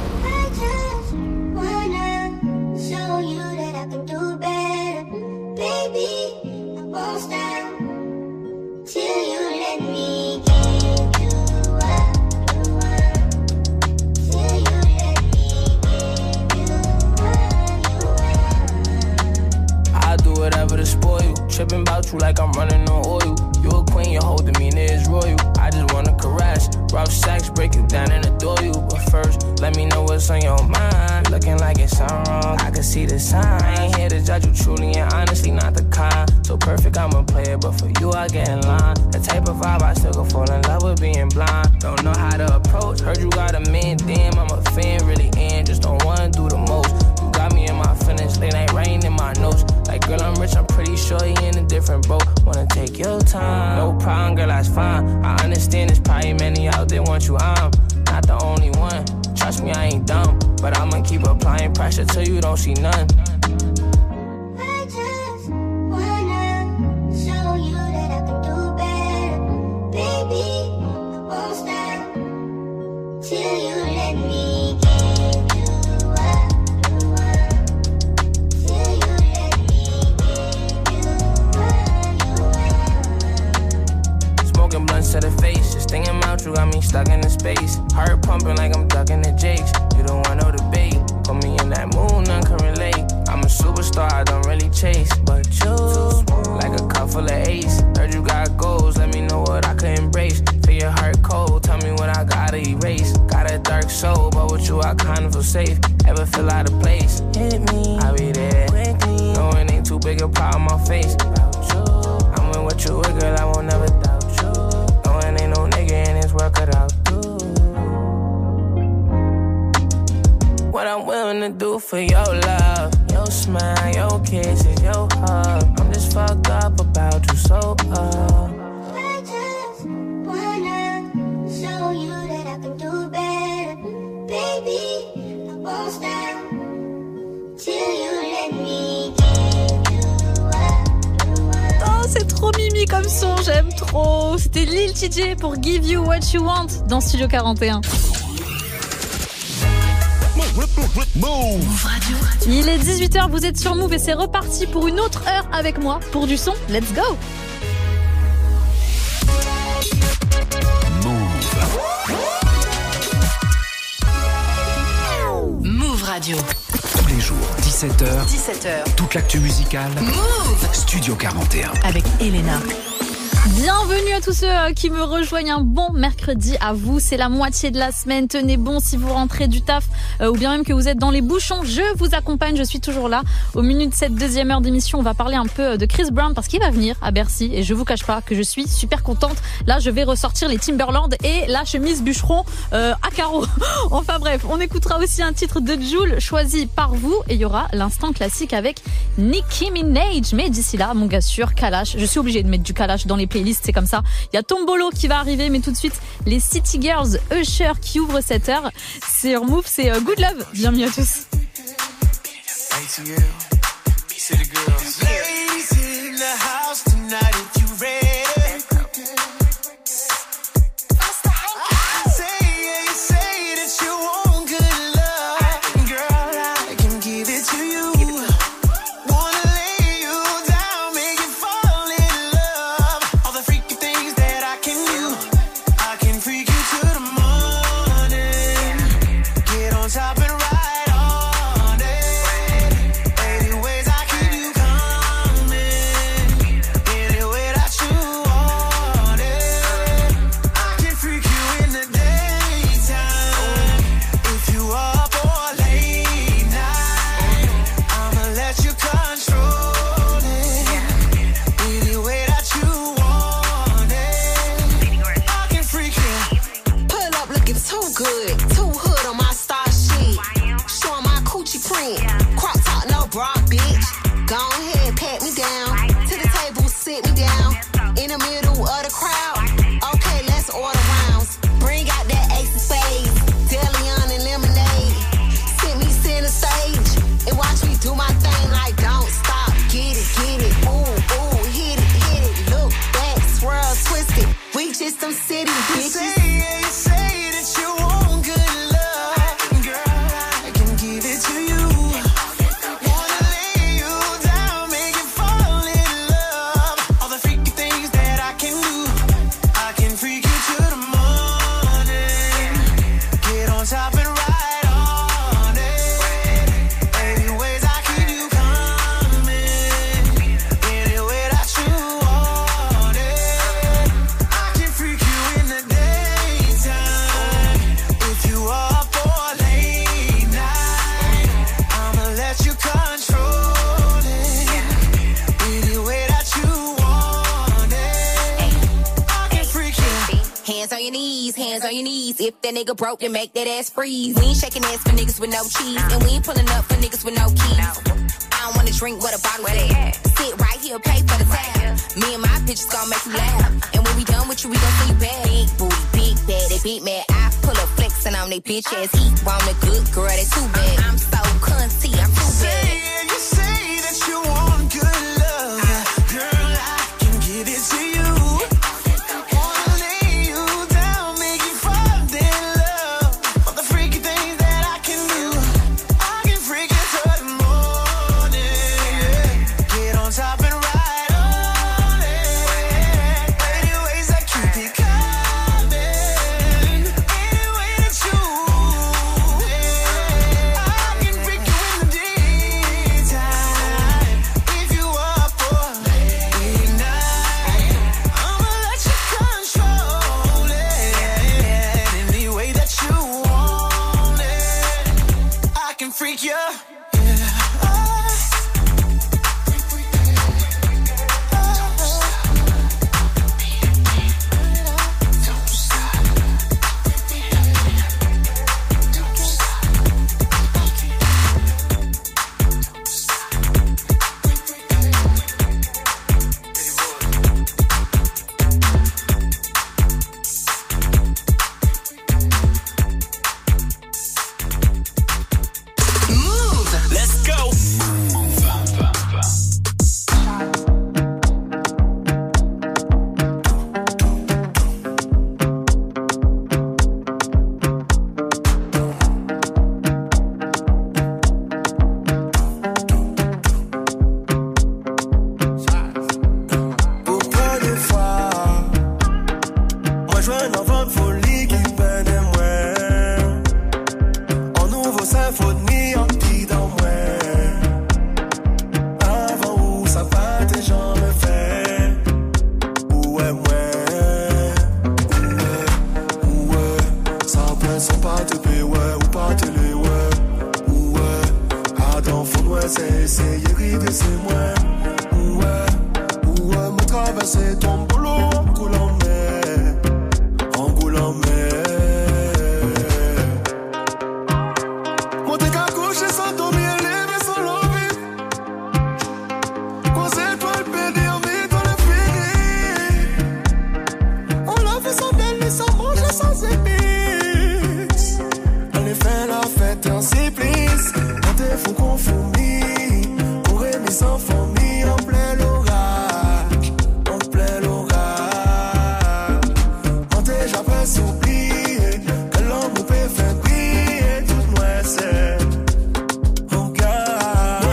Tripping about you like I'm running on oil. You a queen, your whole demeanor is royal. I just wanna caress, rough sex, break you down and adore you. But first, let me know what's on your mind. Looking like it's something wrong, I can see the sign. I ain't here to judge you truly and honestly, not the kind. So perfect, I'm a player, but for you I get in line. The type of vibe I still could fall in love with being blind. Don't know how to approach, heard you got a man, damn, I'm a fan, really in. Just don't wanna do the most. You got me in my feelings, late night rain in my notes. Like girl, I'm rich, I'm pretty sure you in a different boat. Wanna take your time, no problem, girl, that's fine. I understand there's probably many out there want you, I'm not the only one. Trust me, I ain't dumb, but I'ma keep applying pressure till you don't see none. I just wanna show you that I can do better. Baby, I won't stop till you let me give you up. Till you let me give you up. Smoking blunts to the face, just thinking about you got me stuck in the space. Heart pumping like I'm ducking the jakes. You don't want no debate. Put me in that mood, none can relate. I'm a superstar, I don't really chase. But you, like a cup full of ace. Heard you got goals, let me know what I could embrace. Feel your heart cold, tell me what I gotta erase. Got a dark soul, but with you I kinda feel safe. Ever feel out of place? Hit me, I'll be there quickly. No, it ain't too big a part of my face. I'm with you, girl, I won't never doubt you. No, it ain't no nigga in this world cut out. What I'm willing to do for your love. Your smile, your kisses, your hug. I'm just fucked up about you, so I just wanna show you that I can do better. Baby, I won't stop till you let me give you up. Oh, c'est trop mimi comme son, j'aime trop. C'était Lil TJ pour Give You What You Want dans Studio 41. Move Radio. Il est 18h, vous êtes sur Move et c'est reparti pour une autre heure avec moi pour du son. Let's go. Move Radio. Tous les jours, 17h. Toute l'actu musicale. Move. Studio 41. Avec Elena. Bienvenue à tous ceux qui me rejoignent, un bon mercredi à vous, c'est la moitié de la semaine, tenez bon si vous rentrez du taf ou bien même que vous êtes dans les bouchons, je vous accompagne, je suis toujours là. Au milieu de cette deuxième heure d'émission, on va parler un peu de Chris Brown parce qu'il va venir à Bercy et je vous cache pas que je suis super contente. Là je vais ressortir les Timberland et la chemise bûcheron à carreaux. Enfin bref, on écoutera aussi un titre de Jul choisi par vous et il y aura l'instant classique avec Nicki Minaj. Mais d'ici là, mon gars sûr, Kalash, je suis obligée de mettre du Kalash dans les playlists, c'est comme ça. Il y a Tombolo qui va arriver, mais tout de suite, les City Girls, Usher qui ouvre cette heure. Sur Move, c'est Good Love. Bienvenue à tous. If that nigga broke, then make that ass freeze. We ain't shaking ass for niggas with no cheese. And we ain't pulling up for niggas with no keys. I don't wanna drink what a bottle at. Sit right here, pay for the tab. Me and my bitches gon' make you laugh. And when we done with you, we gon' see you back. Big booty, big bad, they beat mad. I pull up flexing on they bitch ass. He want a good girl, they too bad. I'm so cunty, I'm too bad. You say that you want good love. Girl, I can give it to you. sans pas te payer, ouais, ou pas te les, ouais. Adam, faut ouais, c'est essayer, rider, c'est moi. Ouais, me traverser ton boulot en coulant mer. En coulant mer. Monter qu'à coucher sans dormir, lever sans l'envie. Quand c'est toi le pédé, on vit dans le fini. On l'a fait sans belle, sans manger, sans épices. On est fait la fête en supplice. On te fout qu'on fourmille. On remet sans famille en plein l'orage. En plein l'orage. On t'a jamais oublié que l'homme peut faire briller tout moi c'est. On garde.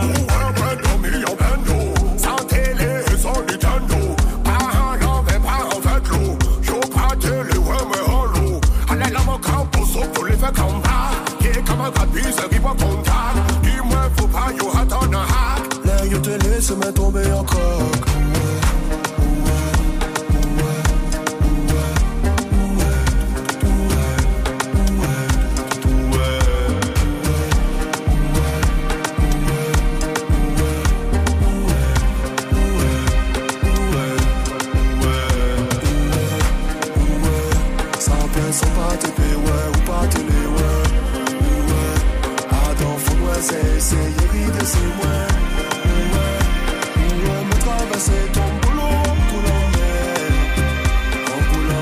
Sans télé, sans Nintendo. Pas en l'envers, pas en fait l'eau. J'en pas télé, ouais, mais en l'eau. Allez, là, mon camp, pour ça, pour les faire combat. Qui comme un caprice, qui va contact. Dis-moi, faut pas, you hot on a hack. Là, you te laisse me tomber en coque. Sans peine, sans pas te payer, ouais, ou pas te les, ouais. Adam, faut ouais, c'est essayer, rider, c'est moi. Ouais, me traverser ton boulot en coulant mer. En coulant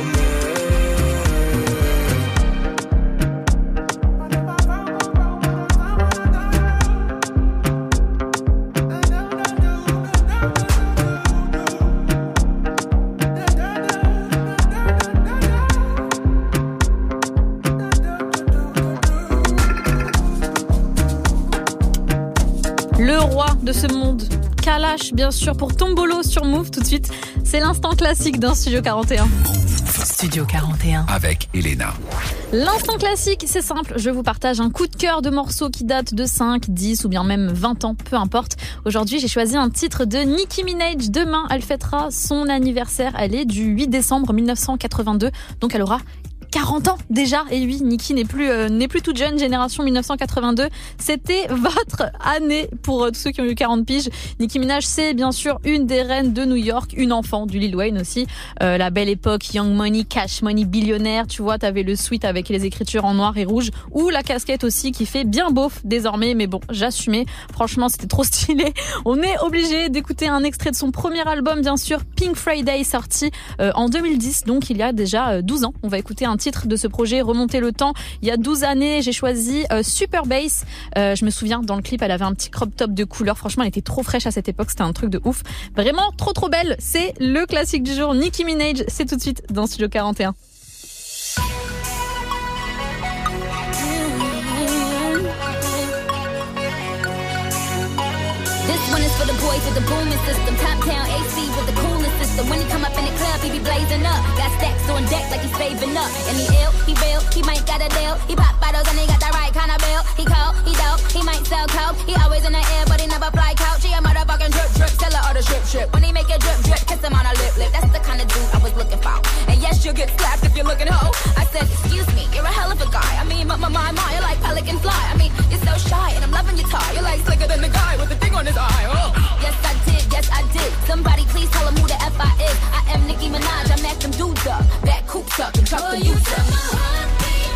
Le roi de ce monde, Kalash bien sûr pour Tombolo sur Move tout de suite. C'est l'instant classique d'un Studio 41. Studio 41. Avec Elena. L'instant classique, c'est simple, je vous partage un coup de cœur de morceaux qui datent de 5, 10 ou bien même 20 ans, peu importe. Aujourd'hui, j'ai choisi un titre de Nicki Minaj. Demain, elle fêtera son anniversaire. Elle est du 8 décembre 1982, donc elle aura 40 ans déjà. Et oui, Nicki n'est plus toute jeune, génération 1982. C'était votre année pour tous ceux qui ont eu 40 piges. Nicki Minaj, c'est bien sûr une des reines de New York, une enfant du Lil Wayne aussi. La belle époque, Young Money, Cash Money, billionnaire. Tu vois, t'avais le suite avec les écritures en noir et rouge ou la casquette aussi qui fait bien beauf désormais. Mais bon, j'assumais. Franchement, c'était trop stylé. On est obligé d'écouter un extrait de son premier album, bien sûr, Pink Friday, sorti en 2010. Donc, il y a déjà 12 ans. On va écouter un titre de ce projet, remonter le temps. Il y a 12 années, j'ai choisi Super Bass. Je me souviens, dans le clip, elle avait un petit crop top de couleur. Franchement, elle était trop fraîche à cette époque. C'était un truc de ouf. Vraiment trop belle. C'est le classique du jour. Nicki Minaj, c'est tout de suite dans Studio 41. This one is for the boys with the booming system. Top down AC with the coolest system. When he come up in the club, he be blazing up. Got stacks on deck like he's saving up. And he ill, he real, he might got a deal. He pop bottles and he got the right kind of bill. He cold, he dope, he might sell coke. He always in the air, but he never fly couch. He a motherfucking drip, seller or the strip. When he make a drip, kiss him on a lip. That's the kind of dude I was looking for. And yes, you'll get slapped if you're looking hoe. I said, excuse me, you're a hell of a guy. I mean, my, you're like pelican fly. I mean, you're so shy and I'm loving your tie. You're like slicker than the guy with the thing on his eye. Oh. Yes, I did. Somebody please tell him who the F I is. I am Nicki Minaj, I met them dudes up. Back coops up and truck the youth up.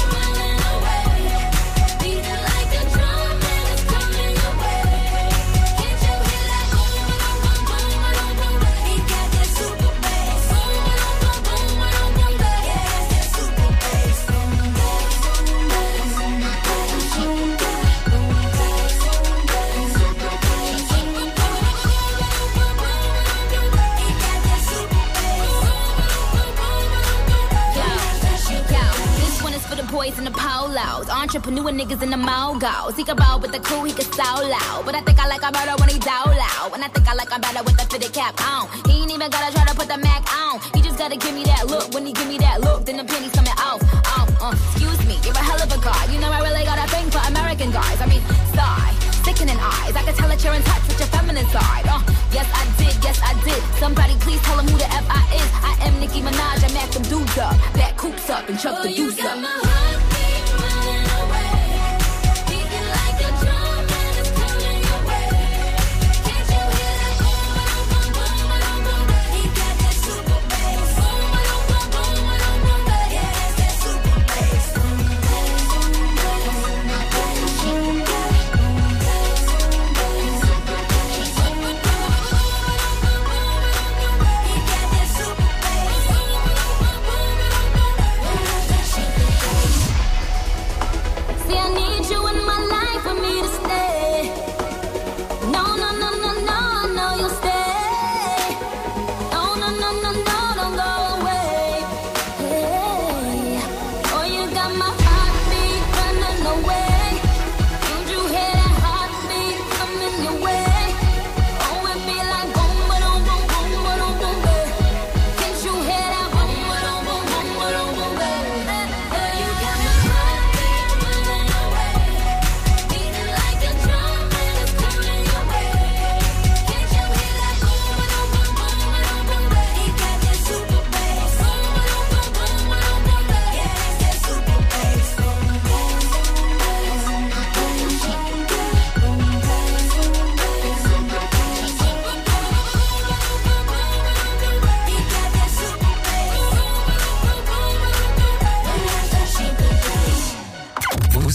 Boys in the polos, entrepreneur niggas in the mogos. He can roll with the crew, he can so loud. But I think I like a better when he down loud. And I think I like a better with the fitted cap on. He ain't even gotta try to put the Mac on. He just gotta give me that look. When he give me that look, then the pennies coming off. Excuse me, you're a hell of a guy. You know I really got a thing for American guys. I mean, sigh, sickening eyes. I can tell that you're in touch with your feminine side. Yes I did. Somebody please tell him who the F I is. I am Nicki Minaj, I met them dudes up. Back coops up and chuck the deuce up.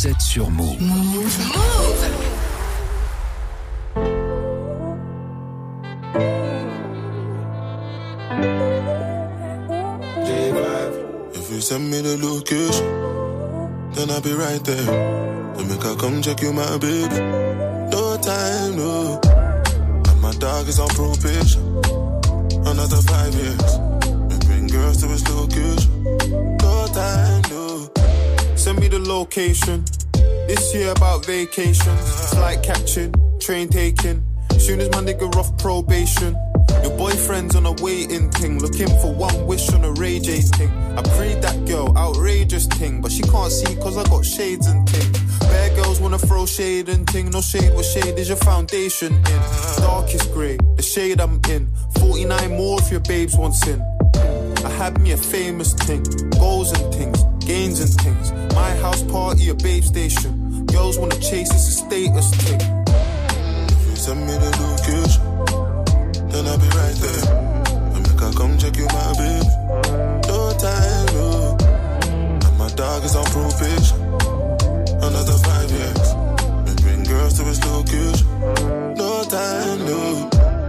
Vous êtes sur Move. If you send me the location, then I'll be right there. Then make I come check you, my baby. No time, no. And my dog is on probation. Another 5 years. And bring girls to his location. No time, no. Send me the location. This year about vacation. Flight catching, train taking. Soon as my nigga off probation. Your boyfriend's on a waiting thing, looking for one wish on a Ray J thing. I prayed that girl, outrageous thing, but she can't see cause I got shades and thing. Bad girls wanna throw shade and thing, no shade, what shade is your foundation in? Darkest grey, the shade I'm in, 49 more if your babes want sin. I had me a famous thing, goals and things, gains and things. My house party, a babe station. Girls wanna chase, it's a status thing. If you send me the location, then I'll be right there. And make I come check you, my baby. No time, no. And my dog is on probation. Another 5 years. And bring girls to his location. No time, no.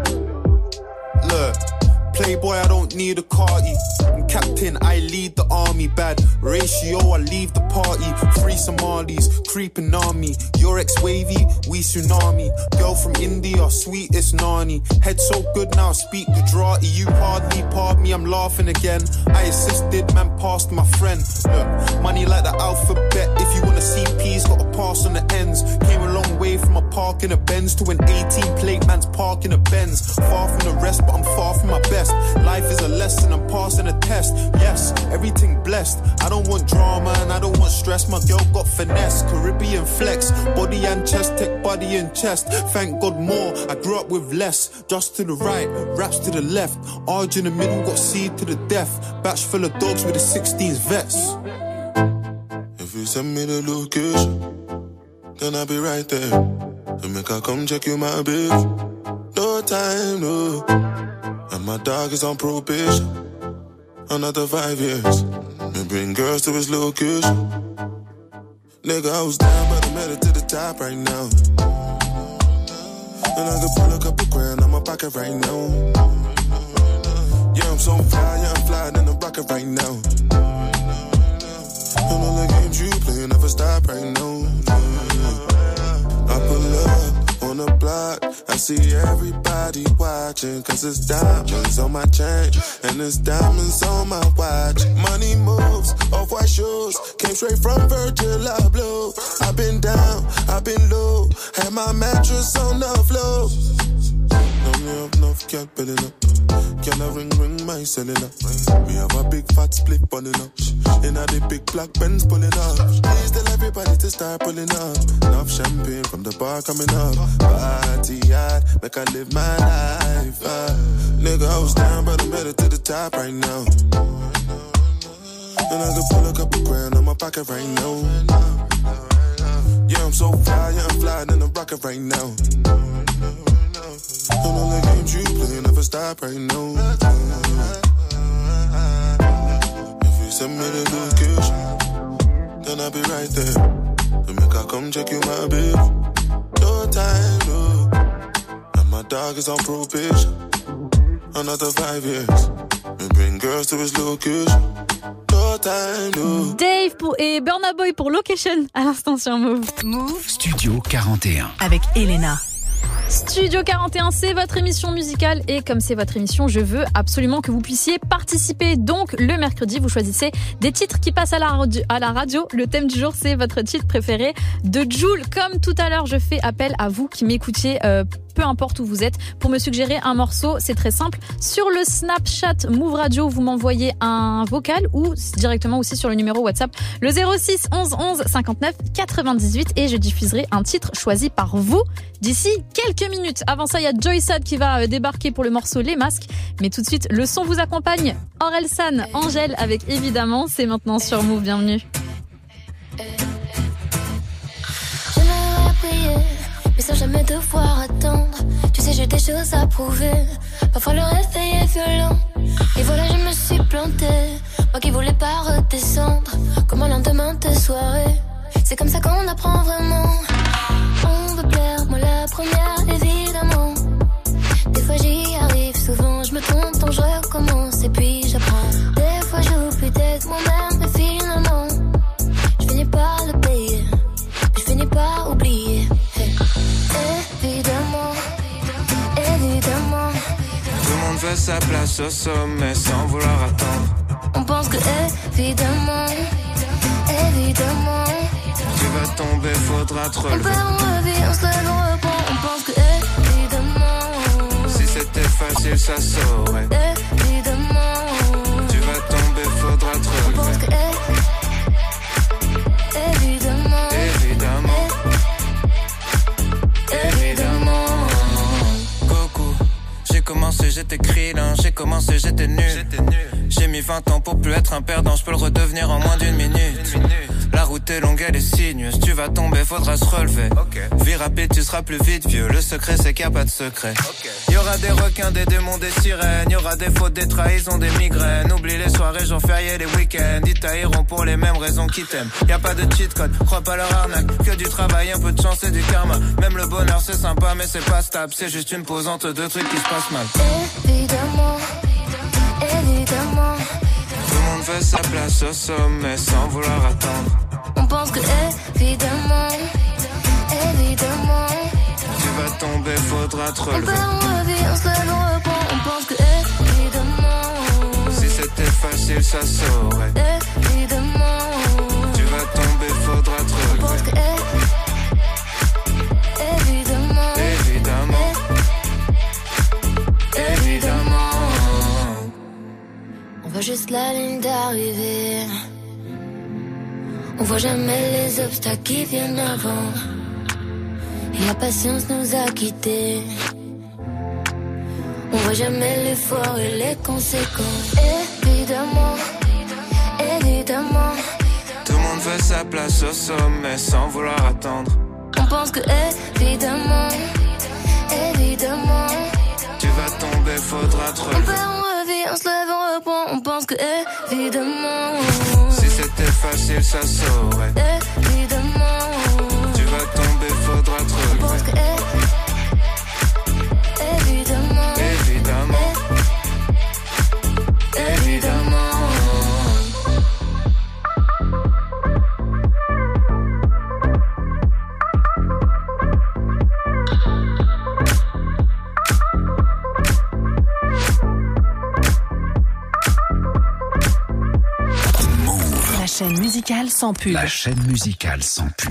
Look, playboy, I don't need a carty. I'm captain, I lead the army. Bad ratio, I leave the party. Free Somalis, creeping army. Your ex-wavy, we tsunami. Girl from India, sweetest nani. Head so good now I speak Gujarati. You pardon me, I'm laughing again. I assisted, man passed my friend. Look, money like the alphabet. If you wanna see P's, gotta pass on the ends. Came a long way from a park in a Benz to an 18 plate man's park in a Benz. Far from the rest, but I'm far from my best. Life is a lesson, I'm passing a test. Yes, everything blessed. I don't want drama and I don't want stress. My girl got finesse, Caribbean flex. Body and chest, tech body and chest. Thank God more, I grew up with less. Just to the right, raps to the left. Arge in the middle, got seed to the death. Batch full of dogs with the 16s vets. If you send me the location, then I'll be right there. And make I come check you, my baby. No time, no. And my dog is on probation. Another 5 years. And bring girls to his location. Nigga, I was down, but I made it to the top right now. And I could pull a couple grand on my pocket right now. Yeah, I'm so fly, yeah, I'm flying in the rocket right now. And all the games you play never stop right now. I pull up on the block, I see everybody watching. Cause it's diamonds on my chain, and it's diamonds on my watch. Money moves, off-white shoes, came straight from Virgil Abloh. I've been down, I've been low, had my mattress on the floor. Enough, can't build it up. Can I ring my cellular? We have a big fat split pulling up. In a the big black Benz pulling up. Please tell everybody to start pulling up. Enough champagne from the bar coming up. Party hard, make I live my life. Nigga, I was down, but I made it to the top right now. And I could pull a couple grand on my pocket right now. Yeah, I'm so fly, yeah, I'm flying in the rocket right now. And all the games you play never stop right now. If you send me the location, then I'll be right there. And make I come check you, my baby. No time, no. And my dog is on probation. Another 5 years. And bring girls to his location. No time, no. Dave et Burna Boy pour Location à l'instant sur Move. Move Studio 41 avec Elena. Studio 41, c'est votre émission musicale et comme c'est votre émission, je veux absolument que vous puissiez participer. Donc le mercredi, vous choisissez des titres qui passent à la radio. Le thème du jour, c'est votre titre préféré de Jul. Comme tout à l'heure, je fais appel à vous qui m'écoutiez peu importe où vous êtes, pour me suggérer un morceau. C'est très simple. Sur le Snapchat Move Radio, vous m'envoyez un vocal ou directement aussi sur le numéro WhatsApp, le 06 11 11 59 98 et je diffuserai un titre choisi par vous d'ici quelques minutes. Avant ça, il y a Joy Sad qui va débarquer pour le morceau Les Masques. Mais tout de suite, le son vous accompagne. Orelsan, Angèle avec Évidemment. C'est maintenant sur Move. Bienvenue. J'aimerais prier, mais sans jamais devoir attendre. Tu sais, j'ai des choses à prouver. Parfois le réveil est violent. Et voilà, je me suis plantée. Moi qui voulais pas redescendre. Comme un lendemain de soirée. C'est comme ça qu'on apprend vraiment. On veut plaire, moi la première évidemment. Des fois j'y arrive, souvent je me trompe, donc je recommence et puis j'apprends. Des fois j'oublie d'être moi-même, mais finalement je finis par le payer, je finis par oublier. Hey. Évidemment, évidemment. Tout le monde veut sa place au sommet sans vouloir attendre. On pense que évidemment, évidemment. Tu vas tomber, faudra te relever. On perd, on revit, on se lève, on reprend. On pense que évidemment. Si c'était facile, ça saurait. Évidemment. Tu vas tomber, faudra te relever. On pense que évidemment. Évidemment. Évidemment. Coucou, j'ai commencé, j'étais krillin. J'ai commencé, j'étais nul. J'ai mis 20 ans pour plus être un perdant. Je peux le redevenir en moins d'une minute. La route est longue, elle est sinueuse. Tu vas tomber, faudra se relever. Vie rapide, tu seras plus vite vieux. Le secret, c'est qu'il n'y a pas de secret. Y'aura des requins, des démons, des sirènes. Y'aura des fautes, des trahisons, des migraines. Oublie les soirées, jours fériés, les week-ends. Ils tailleront pour les mêmes raisons qu'ils t'aiment. Y'a pas de cheat code, crois pas leur arnaque. Que du travail, un peu de chance et du karma. Même le bonheur, c'est sympa, mais c'est pas stable. C'est juste une pause entre deux trucs qui se passent mal. Évidemment, évidemment. Tout le monde veut sa place au sommet sans vouloir attendre. On pense que évidemment, évidemment. Tu vas tomber, faudra te On relever. perd, on revit, on se lève, on reprend. On pense que évidemment. Si c'était facile, ça saurait. Évidemment. Tu vas tomber, faudra te On pense que relever. évidemment. Évidemment. Évidemment. On voit juste la ligne d'arrivée. On voit jamais les obstacles qui viennent avant. Et la patience nous a quittés. On voit jamais l'effort et les conséquences. Évidemment, évidemment. Tout le monde veut sa place au sommet sans vouloir attendre. On pense que évidemment, évidemment. Tu vas tomber, faudra te On relever. perd, on revit, on se lève, on reprend. On pense que évidemment. Si c'était facile, ça saurait. Évidemment. Tu vas tomber, faudra te On pense que relever. évidemment. Évidemment. Évidemment. La chaîne musicale sans pub. La chaîne musicale sans pub.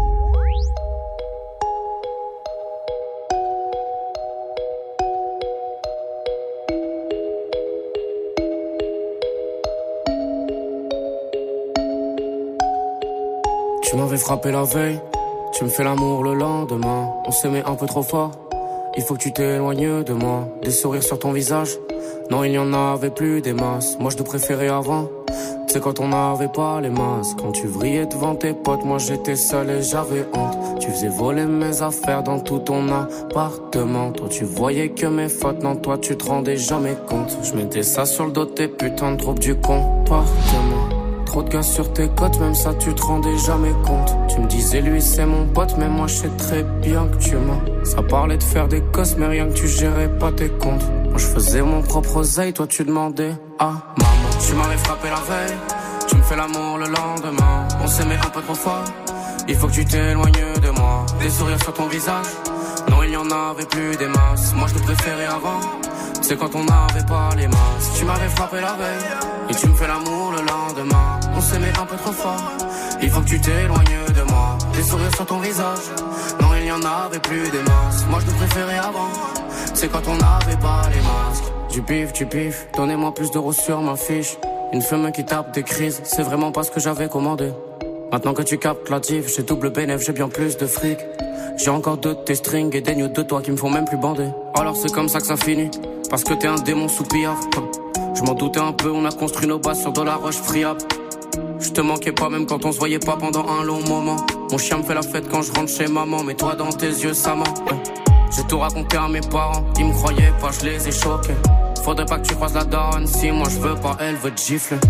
Tu m'avais frappé la veille, tu me fais l'amour le lendemain. On s'aimait un peu trop fort, il faut que tu t'éloignes de moi. Des sourires sur ton visage, non il n'y en avait plus des masses. Moi je te préférais avant, tu sais quand on n'avait pas les masses. Quand tu vrillais devant tes potes, moi j'étais seul et j'avais honte. Tu faisais voler mes affaires dans tout ton appartement. Toi tu voyais que mes fautes, non toi tu te rendais jamais compte. Je mettais ça sur le dos de tes putains de troubles du comportement. Trop de gars sur tes côtes, même ça tu te rendais jamais compte. Tu me disais lui c'est mon pote, mais moi je sais très bien que tu mens. Ça parlait de faire des cosses, mais rien que tu gérais pas tes comptes. Moi je faisais mon propre oseille, toi tu demandais à maman. Tu m'avais frappé la veille, tu me fais l'amour le lendemain. On s'aimait un peu trop fort, il faut que tu t'éloignes de moi. Des sourires sur ton visage, non il n'y en avait plus des masses. Moi je te préférais avant, c'est quand on n'avait pas les masses. Tu m'avais frappé la veille, et tu me fais l'amour le lendemain. On s'aimait un peu trop fort, il faut que tu t'éloignes de moi. Des sourires sur ton visage, non il n'y en avait plus des masses. Moi je te préférais avant, c'est quand on n'avait pas les masques. Du pif, donnez-moi plus d'euros sur ma fiche. Une femme qui tape des crises, c'est vraiment pas ce que j'avais commandé. Maintenant que tu captes la diff, j'ai double bénéf, j'ai bien plus de fric. J'ai encore deux de tes strings et des nudes de toi qui me font même plus bander. Alors c'est comme ça que ça finit, parce que t'es un démon sous pillard. Je m'en doutais un peu, on a construit nos bases sur de la roche friable. Je te manquais pas même quand on se voyait pas pendant un long moment. Mon chien me fait la fête quand je rentre chez maman, mais toi dans tes yeux ça ment. J'ai tout raconté à mes parents, ils me croyaient pas, je les ai choqués. Faudrait pas que tu croises la daronne, si moi je veux pas, elle veut te gifler.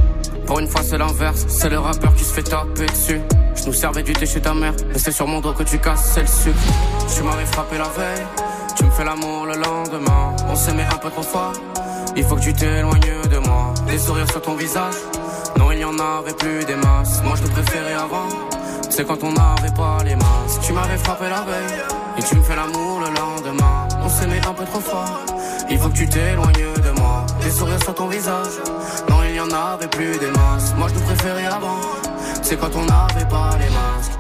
Pour une fois c'est l'inverse, c'est le rappeur qui se fait taper dessus. Je nous servais du thé chez ta mère, mais c'est sur mon dos que tu casses, c'est le sucre. Tu m'avais frappé la veille, tu me fais l'amour le lendemain. On s'aimait un peu trop fort, il faut que tu t'éloignes de moi. Des sourires sur ton visage, non il n'y en avait plus des masses. Moi je te préférais avant, c'est quand on n'avait pas les masses. Tu m'avais frappé la veille, et tu me fais l'amour le lendemain. On s'aimait un peu trop fort, il faut que tu t'éloignes de moi. Des sourires sur ton visage, non il n'y en avait plus des masses. Moi je te préférais avant, c'est quand on n'avait pas les masques.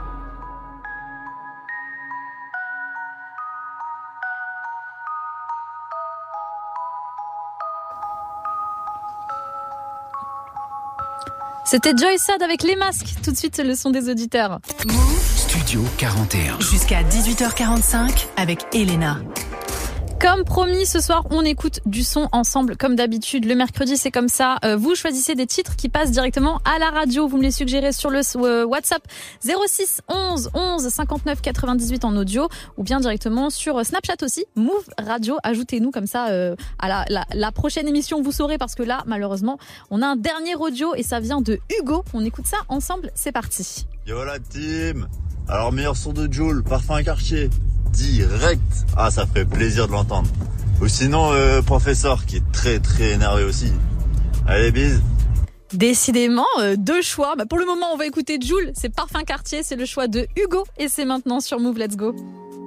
C'était Joy Sad avec les masques. Tout de suite, le son des auditeurs. Studio 41. Jusqu'à 18h45 avec Elena. Comme promis, ce soir, on écoute du son ensemble, comme d'habitude. Le mercredi, c'est comme ça. Vous choisissez des titres qui passent directement à la radio. Vous me les suggérez sur le WhatsApp 06 11 11 59 98 en audio ou bien directement sur Snapchat aussi. Move Radio. Ajoutez-nous comme ça à la prochaine émission. Vous saurez parce que là, malheureusement, on a un dernier audio et ça vient de Hugo. On écoute ça ensemble. C'est parti. Yo la team. Alors meilleur son de Jul, Parfum Quartier. Direct. Ah, ça fait plaisir de l'entendre. Ou sinon, Professeur, qui est très très énervé aussi. Allez, bise. Décidément, deux choix. Pour le moment, on va écouter Jul. C'est Parfum Quartier, c'est le choix de Hugo. Et c'est maintenant sur Move, let's go.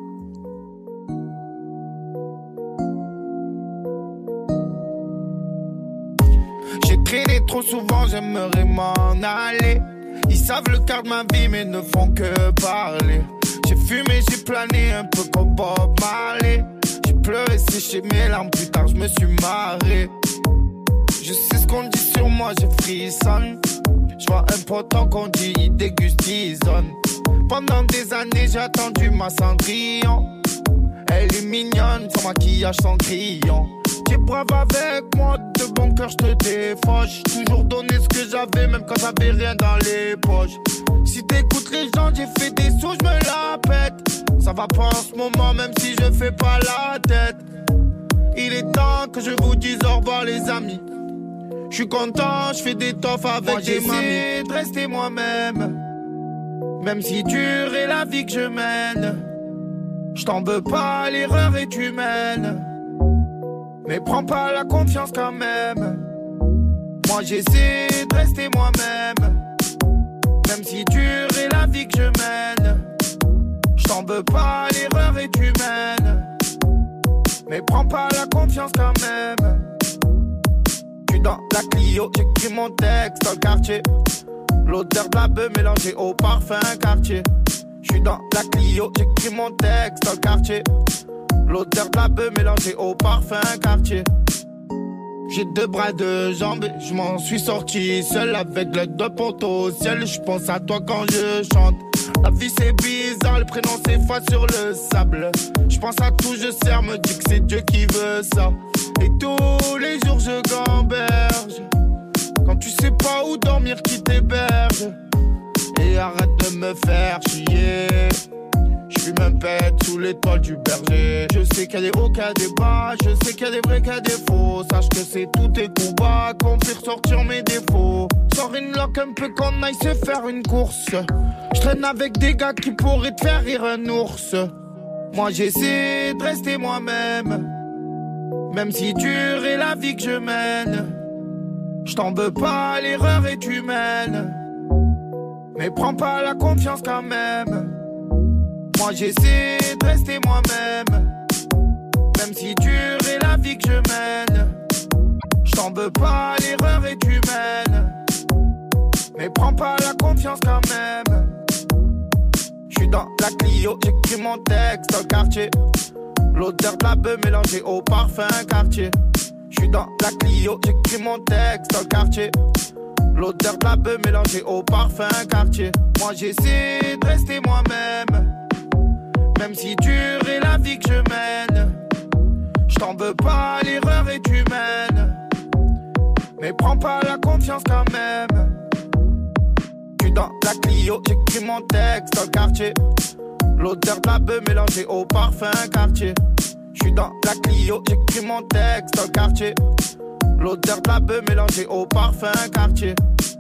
J'ai traîné trop souvent, j'aimerais m'en aller. Ils savent le quart de ma vie, mais ne font que parler. J'ai fumé, j'ai plané un peu comme Bob Marley. J'ai pleuré, séché mes larmes, plus tard je me suis marré. Je sais ce qu'on dit sur moi, j'ai frissonne. Je vois un potent qu'on dit, il déguste, il zone. Pendant des années, j'ai attendu ma Cendrillon. Elle est mignonne, son maquillage, son crayon. T'es brave avec moi, de bon cœur, je te défauche. Toujours donné ce que j'avais, même quand j'avais rien dans les poches. Si t'écoutes les gens, j'ai fait des sous, je me la pète. Ça va pas en ce moment, même si je fais pas la tête. Il est temps que je vous dise au revoir les amis. Je suis content, je fais des toffes avec moi, des mamies. J'essaie de rester moi-même, même si dure est la vie que je mène. Je t'en veux pas, l'erreur est humaine. Mais prends pas la confiance quand même. Moi j'essaie de rester moi-même, même si dure est la vie que je mène. Je t'en veux pas, l'erreur est humaine. Mais prends pas la confiance quand même. J'suis dans la Clio, j'écris mon texte dans le quartier. L'odeur de la beuh mélangée au parfum quartier. J'suis dans la Clio, j'écris mon texte dans le quartier. L'odeur de la beuh mélangée au parfum quartier. J'ai deux bras, deux jambes, je m'en suis sorti seul avec l'aide de poteau au ciel. Je pense à toi quand je chante. La vie c'est bizarre, le prénom s'efface sur le sable. Je pense à tout, je sers, me dis que c'est Dieu qui veut ça. Et tous les jours je gamberge. Quand tu sais pas où dormir, qui t'héberge. Et arrête de me faire chier. J'fuis même pète sous l'étoile du berger. Je sais qu'il y a des hauts, qu'il y a des bas. Je sais qu'il y a des vrais, qu'il y a des faux. Sache que c'est tous tes coups bas qu'on fait ressortir mes défauts. Sors une loque un peu qu'on aille se faire une course. J'traîne avec des gars qui pourraient te faire rire un ours. Moi j'essaie de rester moi-même, même si dure est la vie que je mène. J't'en veux pas, l'erreur est humaine. Mais prends pas la confiance quand même. Moi j'essaie de rester moi-même, même si dure est la vie que je mène. J't'en veux pas, l'erreur est humaine. Mais prends pas la confiance quand même. J'suis dans la Clio, j'écris mon texte dans le quartier. L'odeur de la beuh mélangée au parfum quartier. J'suis dans la Clio, j'écris mon texte dans le quartier. L'odeur de la beuh mélangée au parfum quartier. Moi j'essaie de rester moi-même, même si dure est la vie que je mène. J't'en veux pas, l'erreur est humaine. Mais prends pas la confiance quand même. J'suis dans la Clio, j'écris mon texte dans le quartier. L'odeur de la beuh mélangée au parfum quartier. J'suis dans la Clio, j'écris mon texte dans le quartier. L'odeur de la beuh mélangée au parfum quartier.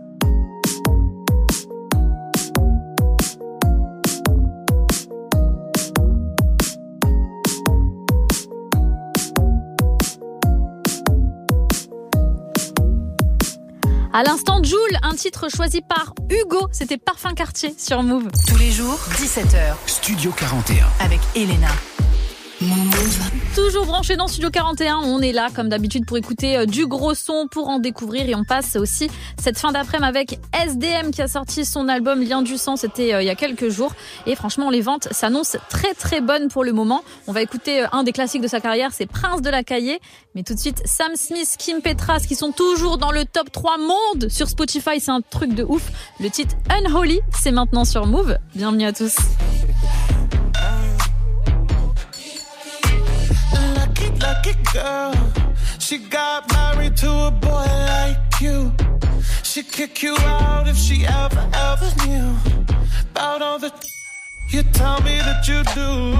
À l'instant, Joule, un titre choisi par Hugo, c'était Parfum Quartier sur Move. Tous les jours, 17h. Studio 41. Avec Elena. Toujours branché dans Studio 41, on est là comme d'habitude pour écouter du gros son, pour en découvrir, et on passe aussi cette fin d'après-midi avec SDM qui a sorti son album Lien du sang, c'était il y a quelques jours, et franchement les ventes s'annoncent très très bonnes pour le moment. On va écouter un des classiques de sa carrière, c'est Prince de la Cahier, mais tout de suite Sam Smith, Kim Petras qui sont toujours dans le top 3 monde sur Spotify, c'est un truc de ouf. Le titre Unholy, c'est maintenant sur Move. Bienvenue à tous. Lucky girl, she got married to a boy like you. She'd kick you out if she ever knew about all the you tell me that you do.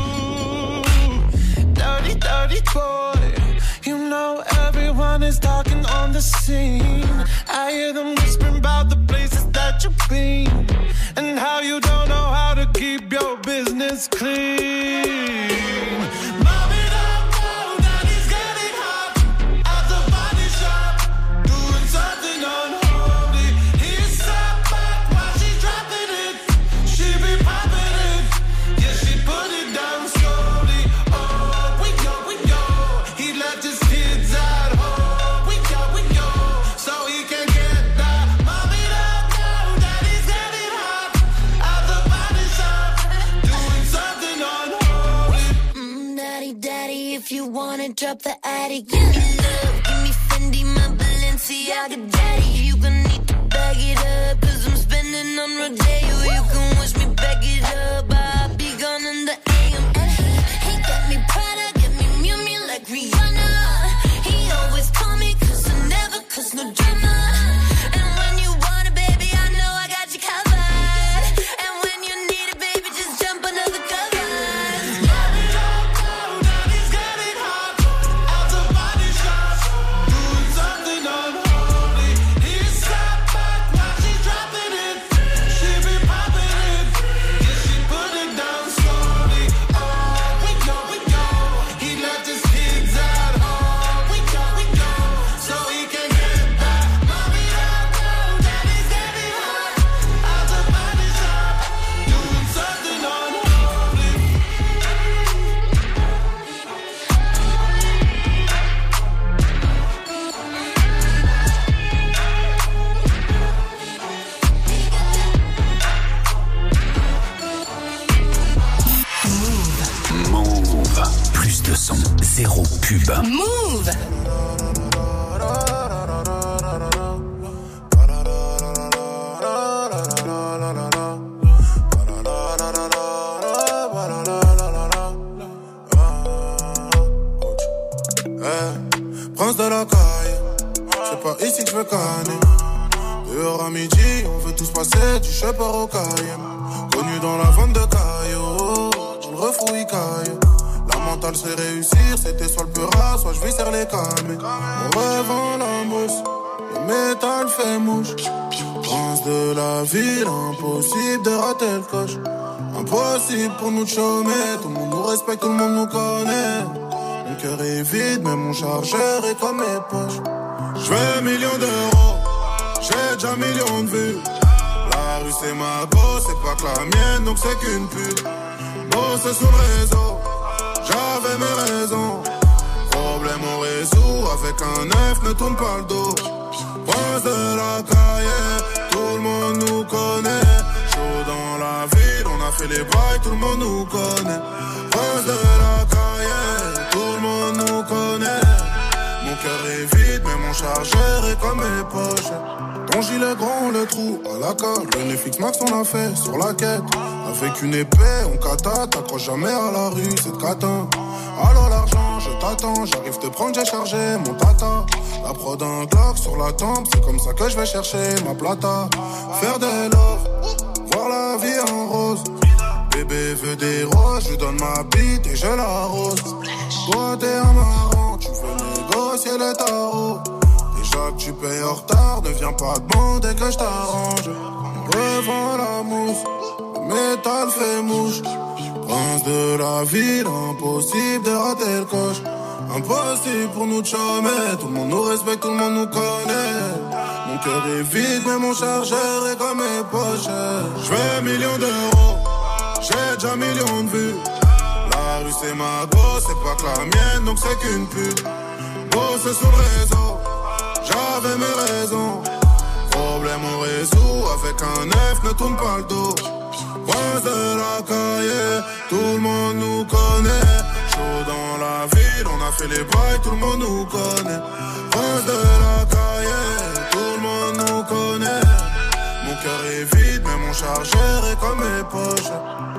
Dirty boy, you know everyone is talking on the scene. I hear them whispering about the places that you've been and how you don't know how to keep your business clean. If you wanna drop the attic, give me love, give me Fendi, my Balenciaga daddy. You gon' need to bag it up, cause I'm spending on Rodeo. You can wish me back it up, I'll be gone in the AM. And he got me Prada, got me Miu Miu like Rihanna. He always call me cause I never cause no drama. And when you want it, baby, I know I got you covered. And when you need it, baby, just jump under the covers. Zéro pub. Move. Prince de la caille, c'est pas ici que je veux canner. Dehors à midi, on veut tous passer du Shepherd au Cayenne. Connu dans la vente de cailloux, dans le refouille caille. La mentale c'est réussir, c'était soit le peur, soit je viscère les calmes. On rêve en la mousse, le métal fait mouche. Prince de la ville, impossible de rater le coche. Impossible pour nous de chômer, tout le monde nous respecte, tout le monde nous connaît. Mon cœur est vide, mais mon chargeur est comme mes poches. J'veux millions d'euros, j'ai déjà millions de vues. La rue c'est ma go, c'est pas que la mienne, donc c'est qu'une pute. Bosser sur le réseau, j'avais mes raisons. Problème on résout, avec un œuf ne tourne pas le dos. Prince de la cahier, tout le monde nous connaît. Chaud dans la ville, on a fait les bails, tout le monde nous connaît. Prince de la cahier, tout le monde nous connaît. Mon cœur est vide, mais mon chargeur est comme mes poches. Ton gilet grand, le trou à la colle. Le Netflix Max, on l'a fait sur la quête. Avec une épée, on kata, t'accroches jamais à la rue, c'est de catin. Alors l'argent, je t'attends, j'arrive te prendre, j'ai chargé mon tata. La prod un Glock sur la tempe, c'est comme ça que je vais chercher ma plata. Faire des love, voir la vie en rose. Bébé veut des roses, je lui donne ma bite et je l'arrose. Toi t'es un marrant, tu veux négocier négocier le tarot. Déjà que tu payes en retard, ne viens pas demander que je t'arrange. Revends la mousse, le métal fait mouche. Prince de la ville, impossible de rater le coche. Impossible pour nous de chômer, tout le monde nous respecte, tout le monde nous connaît. Mon cœur est vide, mais mon chargeur est comme mes poches. Je veux millions d'euros, j'ai déjà millions de vues. La rue c'est ma go, c'est pas que la mienne, donc c'est qu'une pute. Bosser sur le réseau, j'avais mes raisons. Problème on résout, avec un F ne tourne pas le dos. Prince de la cahier, tout le monde nous connaît. Chaud dans la ville, on a fait les bails, tout le monde nous connaît. Prince de la cahier, tout le monde nous connaît. Mon cœur est vide, mais mon chargeur est comme mes poches.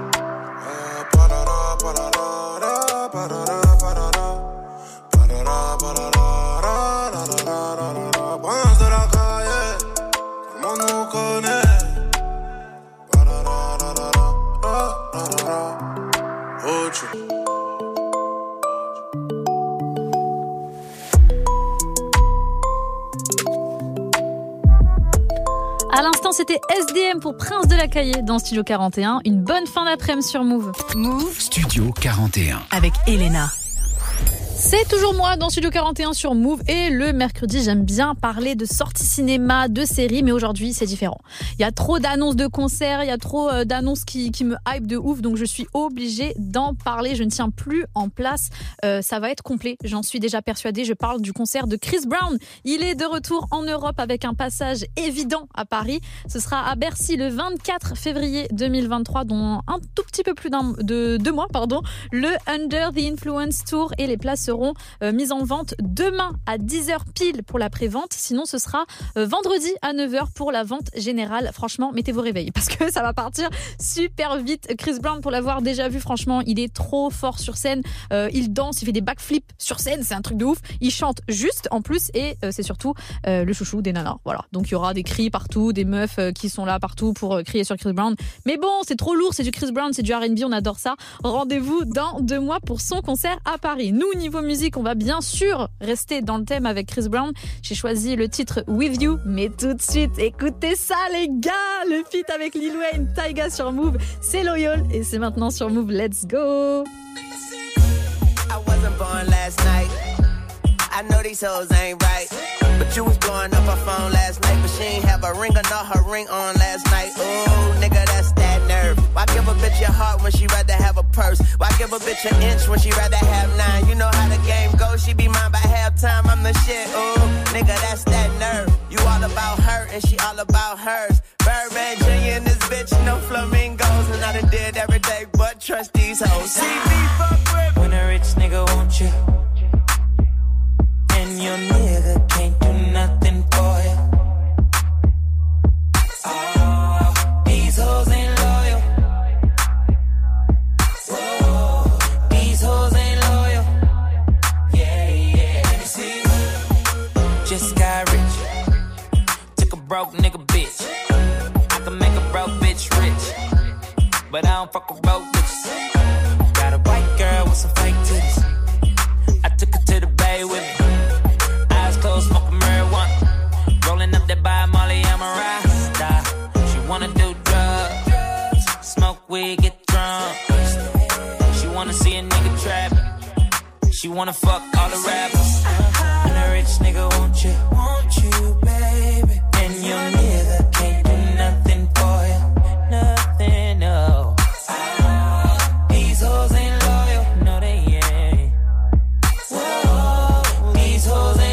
Prince de la cahier, tout le monde nous connaît. À l'instant, c'était SDM pour Prince de la Cahier dans Studio 41. Une bonne fin d'après-midi sur Move. Move Studio 41 avec Elena. C'est toujours moi dans Studio 41 sur Move et le mercredi, j'aime bien parler de sorties cinéma, de séries, mais aujourd'hui, c'est différent. Il y a trop d'annonces de concerts, il y a trop d'annonces qui me hype de ouf, donc je suis obligée d'en parler. Je ne tiens plus en place. Ça va être complet, j'en suis déjà persuadée. Je parle du concert de Chris Brown. Il est de retour en Europe avec un passage évident à Paris. Ce sera à Bercy le 24 février 2023, dont un tout petit peu plus de 2 mois, le Under the Influence Tour, et les places seront mises en vente demain à 10h pile pour la pré-vente. Sinon, ce sera vendredi à 9h pour la vente générale. Franchement, mettez vos réveils parce que ça va partir super vite. Chris Brown, pour l'avoir déjà vu, franchement, il est trop fort sur scène. Il danse, il fait des backflips sur scène, c'est un truc de ouf. Il chante juste en plus et c'est surtout le chouchou des nanas. Voilà. Donc il y aura des cris partout, des meufs qui sont là partout pour crier sur Chris Brown. Mais bon, c'est trop lourd, c'est du Chris Brown, c'est du R&B, on adore ça. Rendez-vous dans 2 mois pour son concert à Paris. Nous, niveau musique, on va bien sûr rester dans le thème avec Chris Brown. J'ai choisi le titre With You, mais tout de suite, écoutez ça les gars, le feat avec Lil Wayne, Tyga sur Move, c'est Loyal et c'est maintenant sur Move. Let's go. I wasn't born last night. I know these hoes ain't right. But you was blowing up her phone last night, but she ain't have a ring or not her ring on last night. Ooh, nigga, that's that nerve. Why give a bitch your heart when she rather have a purse? Why give a bitch an inch when she rather have 9? You know how the game goes, she be mine by halftime, I'm the shit. Ooh, nigga, that's that nerve. You all about her and she all about hers. Birdman Jr. and this bitch, no flamingos. And I done did every day but trust these hoes. See me fuck with when a rich nigga want you, and your nigga can't do nothing for you. Oh, these hoes ain't loyal. Whoa, these hoes ain't loyal. Yeah, yeah. Let me see. Just got rich. Took a broke nigga bitch. I can make a broke bitch rich, but I don't fuck with broke bitches. Got a white girl with some fake titties. I took her to the bay with me. Close, smoking marijuana, rolling up that by Molly, I'm a rasta. She wanna do drugs, smoke weed, get drunk. She wanna see a nigga trap. She wanna fuck all the rappers. And a rich nigga want you, baby. And your nigga can't do nothing for you, nothing, no. These hoes ain't loyal, no they ain't. Whoa, these hoes ain't.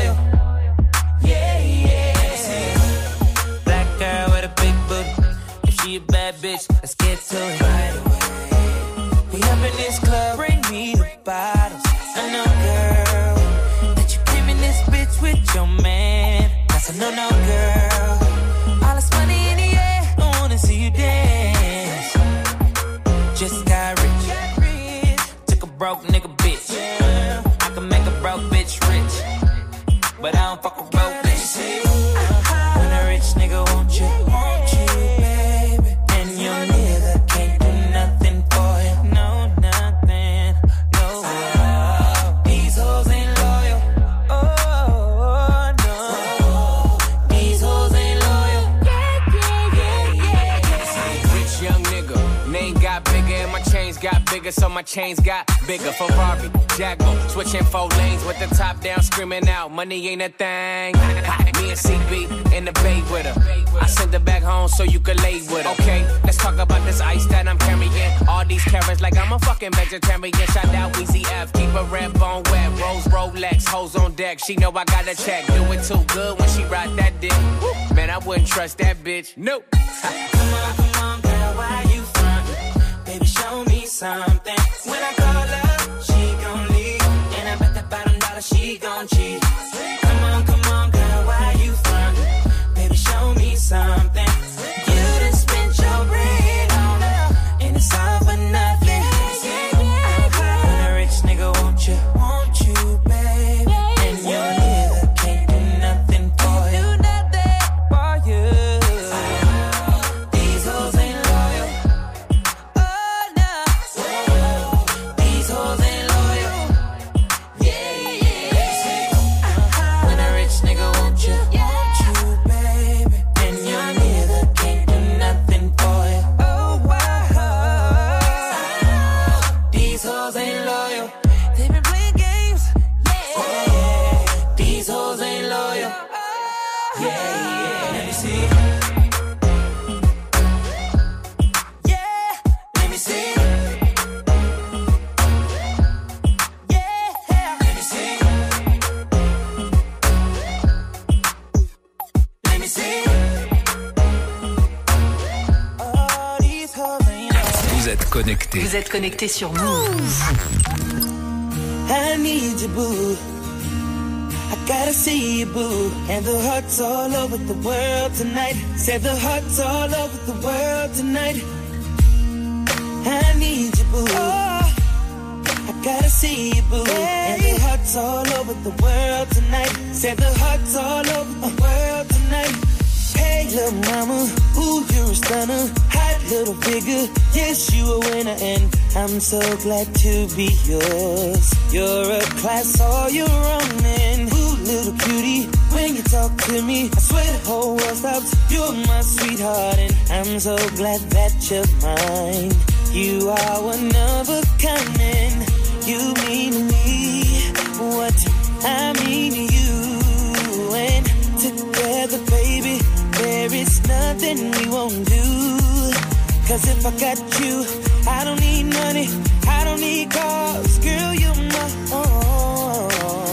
She a bad bitch, let's get to it right away. We up in this club, bring me the bottles. I know, girl, that you came in this bitch with your man. That's a no-no, girl. All this money in the air, I wanna see you dance. Just got rich, took a broke nigga bitch. I can make a broke bitch rich, but I don't fuck with broke bitches. When a rich nigga want you, baby. And your nigga can't do nothing for you. No, nothing, no. These hoes ain't loyal. my chains got bigger, so my chains got bigger. Ferrari, Jaguar, switching 4 lanes with the top down, screaming out, money ain't a thing. Me and CB in the bay with her. I send her back home so you can lay with her. Okay, let's talk about this ice that I'm carrying. All these carrots like I'm a fucking vegetarian. Shout out Weezy F, keep a red bone wet. Rose Rolex, hoes on deck. She know I got a check. Do it too good when she ride that dick. Man, I wouldn't trust that bitch. Nope. Come on, girl, why you frontin'? Baby, show me something. When I call her, she gon' leave. And I bet that bottom dollar she gon' cheat. Come on, girl, why you frontin'? Baby, show me something. You done spent your bread on her, and it's all for nothing. I'm a rich nigga, won't you, baby? And your nigga can't do nothing for you. These hoes ain't loyal. Oh no. These hoes ain't loyal. Yeah. When a rich nigga won't you, baby? And your nigga can't do nothing for you. Oh wow. These hoes ain't loyal. They been playing games. Yeah. These hoes ain't loyal. Yeah. Let me see. Let me see. Let me see. Let me see. Oh, these hoes ain't loyal. Vous êtes connectés. Vous êtes connectés sur Move. I need you, boo. I gotta see you, boo. And the hearts all over the world tonight. Said the hearts all over the world tonight. I need you, boo. I gotta see you, boo. And the hearts all over the world tonight. Said the hearts all over the world tonight. Hey, little mama, ooh, you're a stunner. Hot little figure, yes, you a winner. And I'm so glad to be yours. You're a class all your own. And ooh, little cutie, when you talk to me, I swear the whole world stops. You're my sweetheart, and I'm so glad that you're mine. You are one of a kind, and you mean to me what I mean to you. And together, baby, there is nothing we won't do. Cause if I got you, I don't need money, I don't need cars. Girl, you're my own.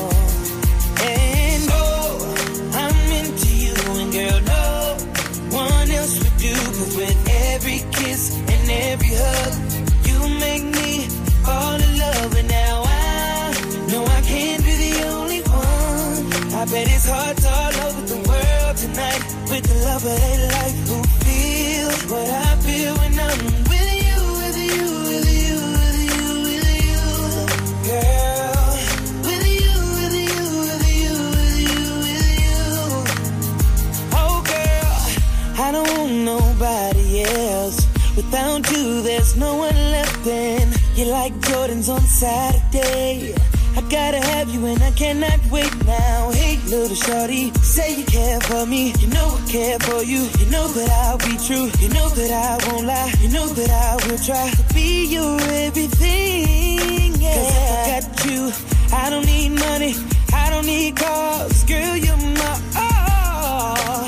And oh, I'm into you. And girl, no one else would do. Cause with every kiss and every hug, you make me fall in love. And now I know I can't be the only one. I bet it's hearts all over the world tonight. With the love of their life, who feels what I feel when I'm with you, with you, with you, with you, with you, girl. With you, with you, with you, with you, with you. Oh, girl, I don't want nobody else. Without you, there's no one left. And you're like Jordans on Saturday. I gotta have you and I cannot wait now. Hey, little shorty, say you care for me. You know I care for you. You know that I'll be true. You know that I won't lie. You know that I will try to be your everything. Yeah. Cause if I got you, I don't need money, I don't need cars. Girl, you're my all.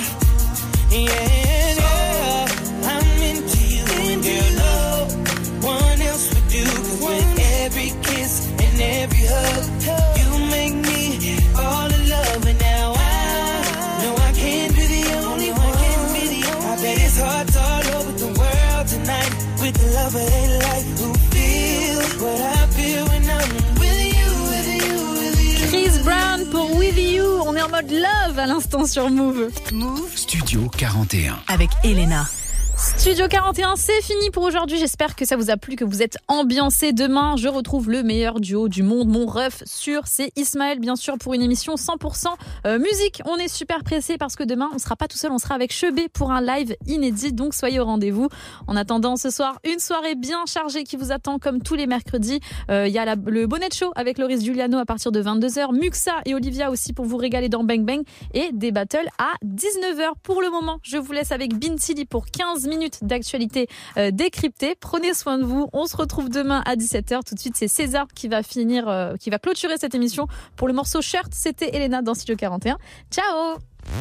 Yeah, I'm into you. And girl, no one else would do. Cause with every kiss and every hug, you make me fall in love. And now I know I can't be the only one. I bet it's hearts all over the world tonight. With the love of their life, who feels what I feel when I'm with you, with you, with you. Chris Brown pour With You. On est en mode love à l'instant sur Move. Move Studio 41. avec Elena. Studio 41, c'est fini pour aujourd'hui. J'espère que ça vous a plu, que vous êtes ambiancés. Demain, je retrouve le meilleur duo du monde, mon ref sûr, c'est Ismaël, bien sûr, pour une émission 100% musique. On est super pressés parce que demain, on sera pas tout seul, on sera avec Chebé pour un live inédit. Donc, soyez au rendez-vous. En attendant, ce soir, une soirée bien chargée qui vous attend comme tous les mercredis. Il y a le Bonnet Show avec Loris Giuliano à partir de 22h. Muxa et Olivia aussi pour vous régaler dans Bang Bang. Et des battles à 19h. Pour le moment, je vous laisse avec Bintili pour 15 minutes. minutes d'actualité décryptée. Prenez soin de vous. On se retrouve demain à 17h. Tout de suite, c'est César qui va clôturer cette émission pour le morceau Shirt. C'était Elena dans Studio 41. Ciao.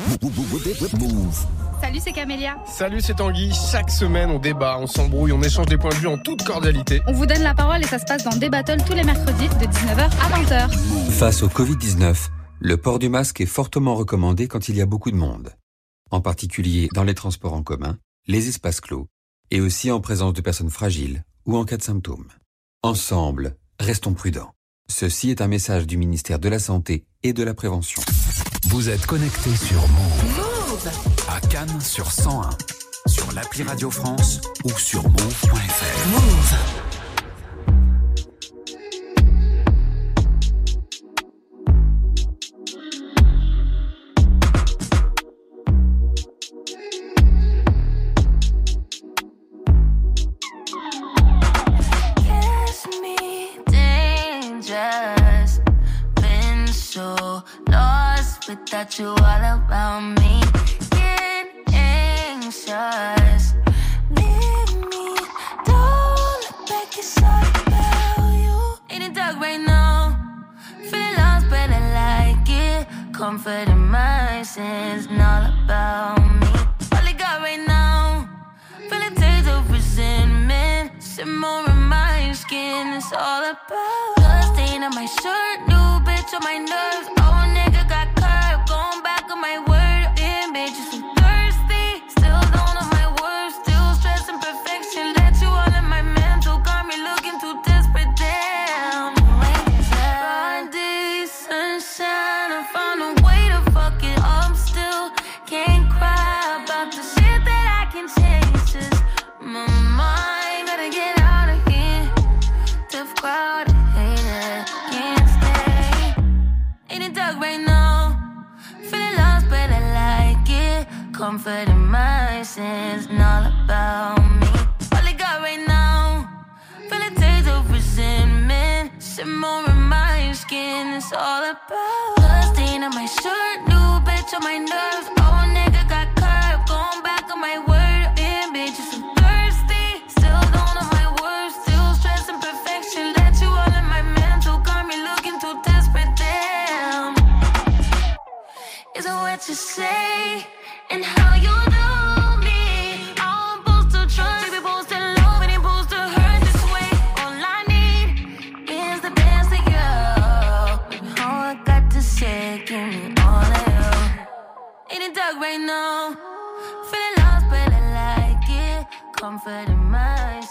Salut, c'est Camélia. Salut, c'est Tanguy. Chaque semaine, on débat, on s'embrouille, on échange des points de vue en toute cordialité. On vous donne la parole et ça se passe dans Débattle tous les mercredis de 19h à 20h. Face au Covid-19, le port du masque est fortement recommandé quand il y a beaucoup de monde. En particulier dans les transports en commun, les espaces clos, et aussi en présence de personnes fragiles ou en cas de symptômes. Ensemble, restons prudents. Ceci est un message du ministère de la Santé et de la Prévention. Vous êtes connectés sur Move. À Cannes sur 101, sur l'appli Radio France ou sur move.fr. Move. Without you all around me, get anxious. Leave me, don't look back, it's all about you. In the dark right now, feeling lost but I like it. Comfort in my sins, and all about me. All I got right now, feeling taste of resentment. Simmer in my skin, it's all about blood stain on my shirt, new bitch on my nerves. Oh, nigga got going back on my word, damn bitches so thirsty. Still don't know my words, still stressing perfection. Let you all in my mental, got me looking too desperate. Damn, broad day, sunshine, I found a way to fuck it up. Still can't cry about the shit that I can change. Just my mind, gotta get out of here. Tough crowd, hate it, can't stay. In the dark right now. Comfort in my sins, and all about me. All I got right now, feel a taste of resentment. Simmer in my skin, it's all about blood stain on my shirt, new bitch on my nerves. Oh, nigga got curved, going back on my word. Damn, bitches so thirsty. Still don't know my words, still stressing perfection. Let you all in my mental, got me looking too desperate. Damn, is it what you say? And how you do me, I'm supposed to trust, baby, supposed to love, and supposed to hurt this way. All I need is the best of you. All I got to say, give me all of you. In the dark right now, feeling lost, but I like it. Comfort in my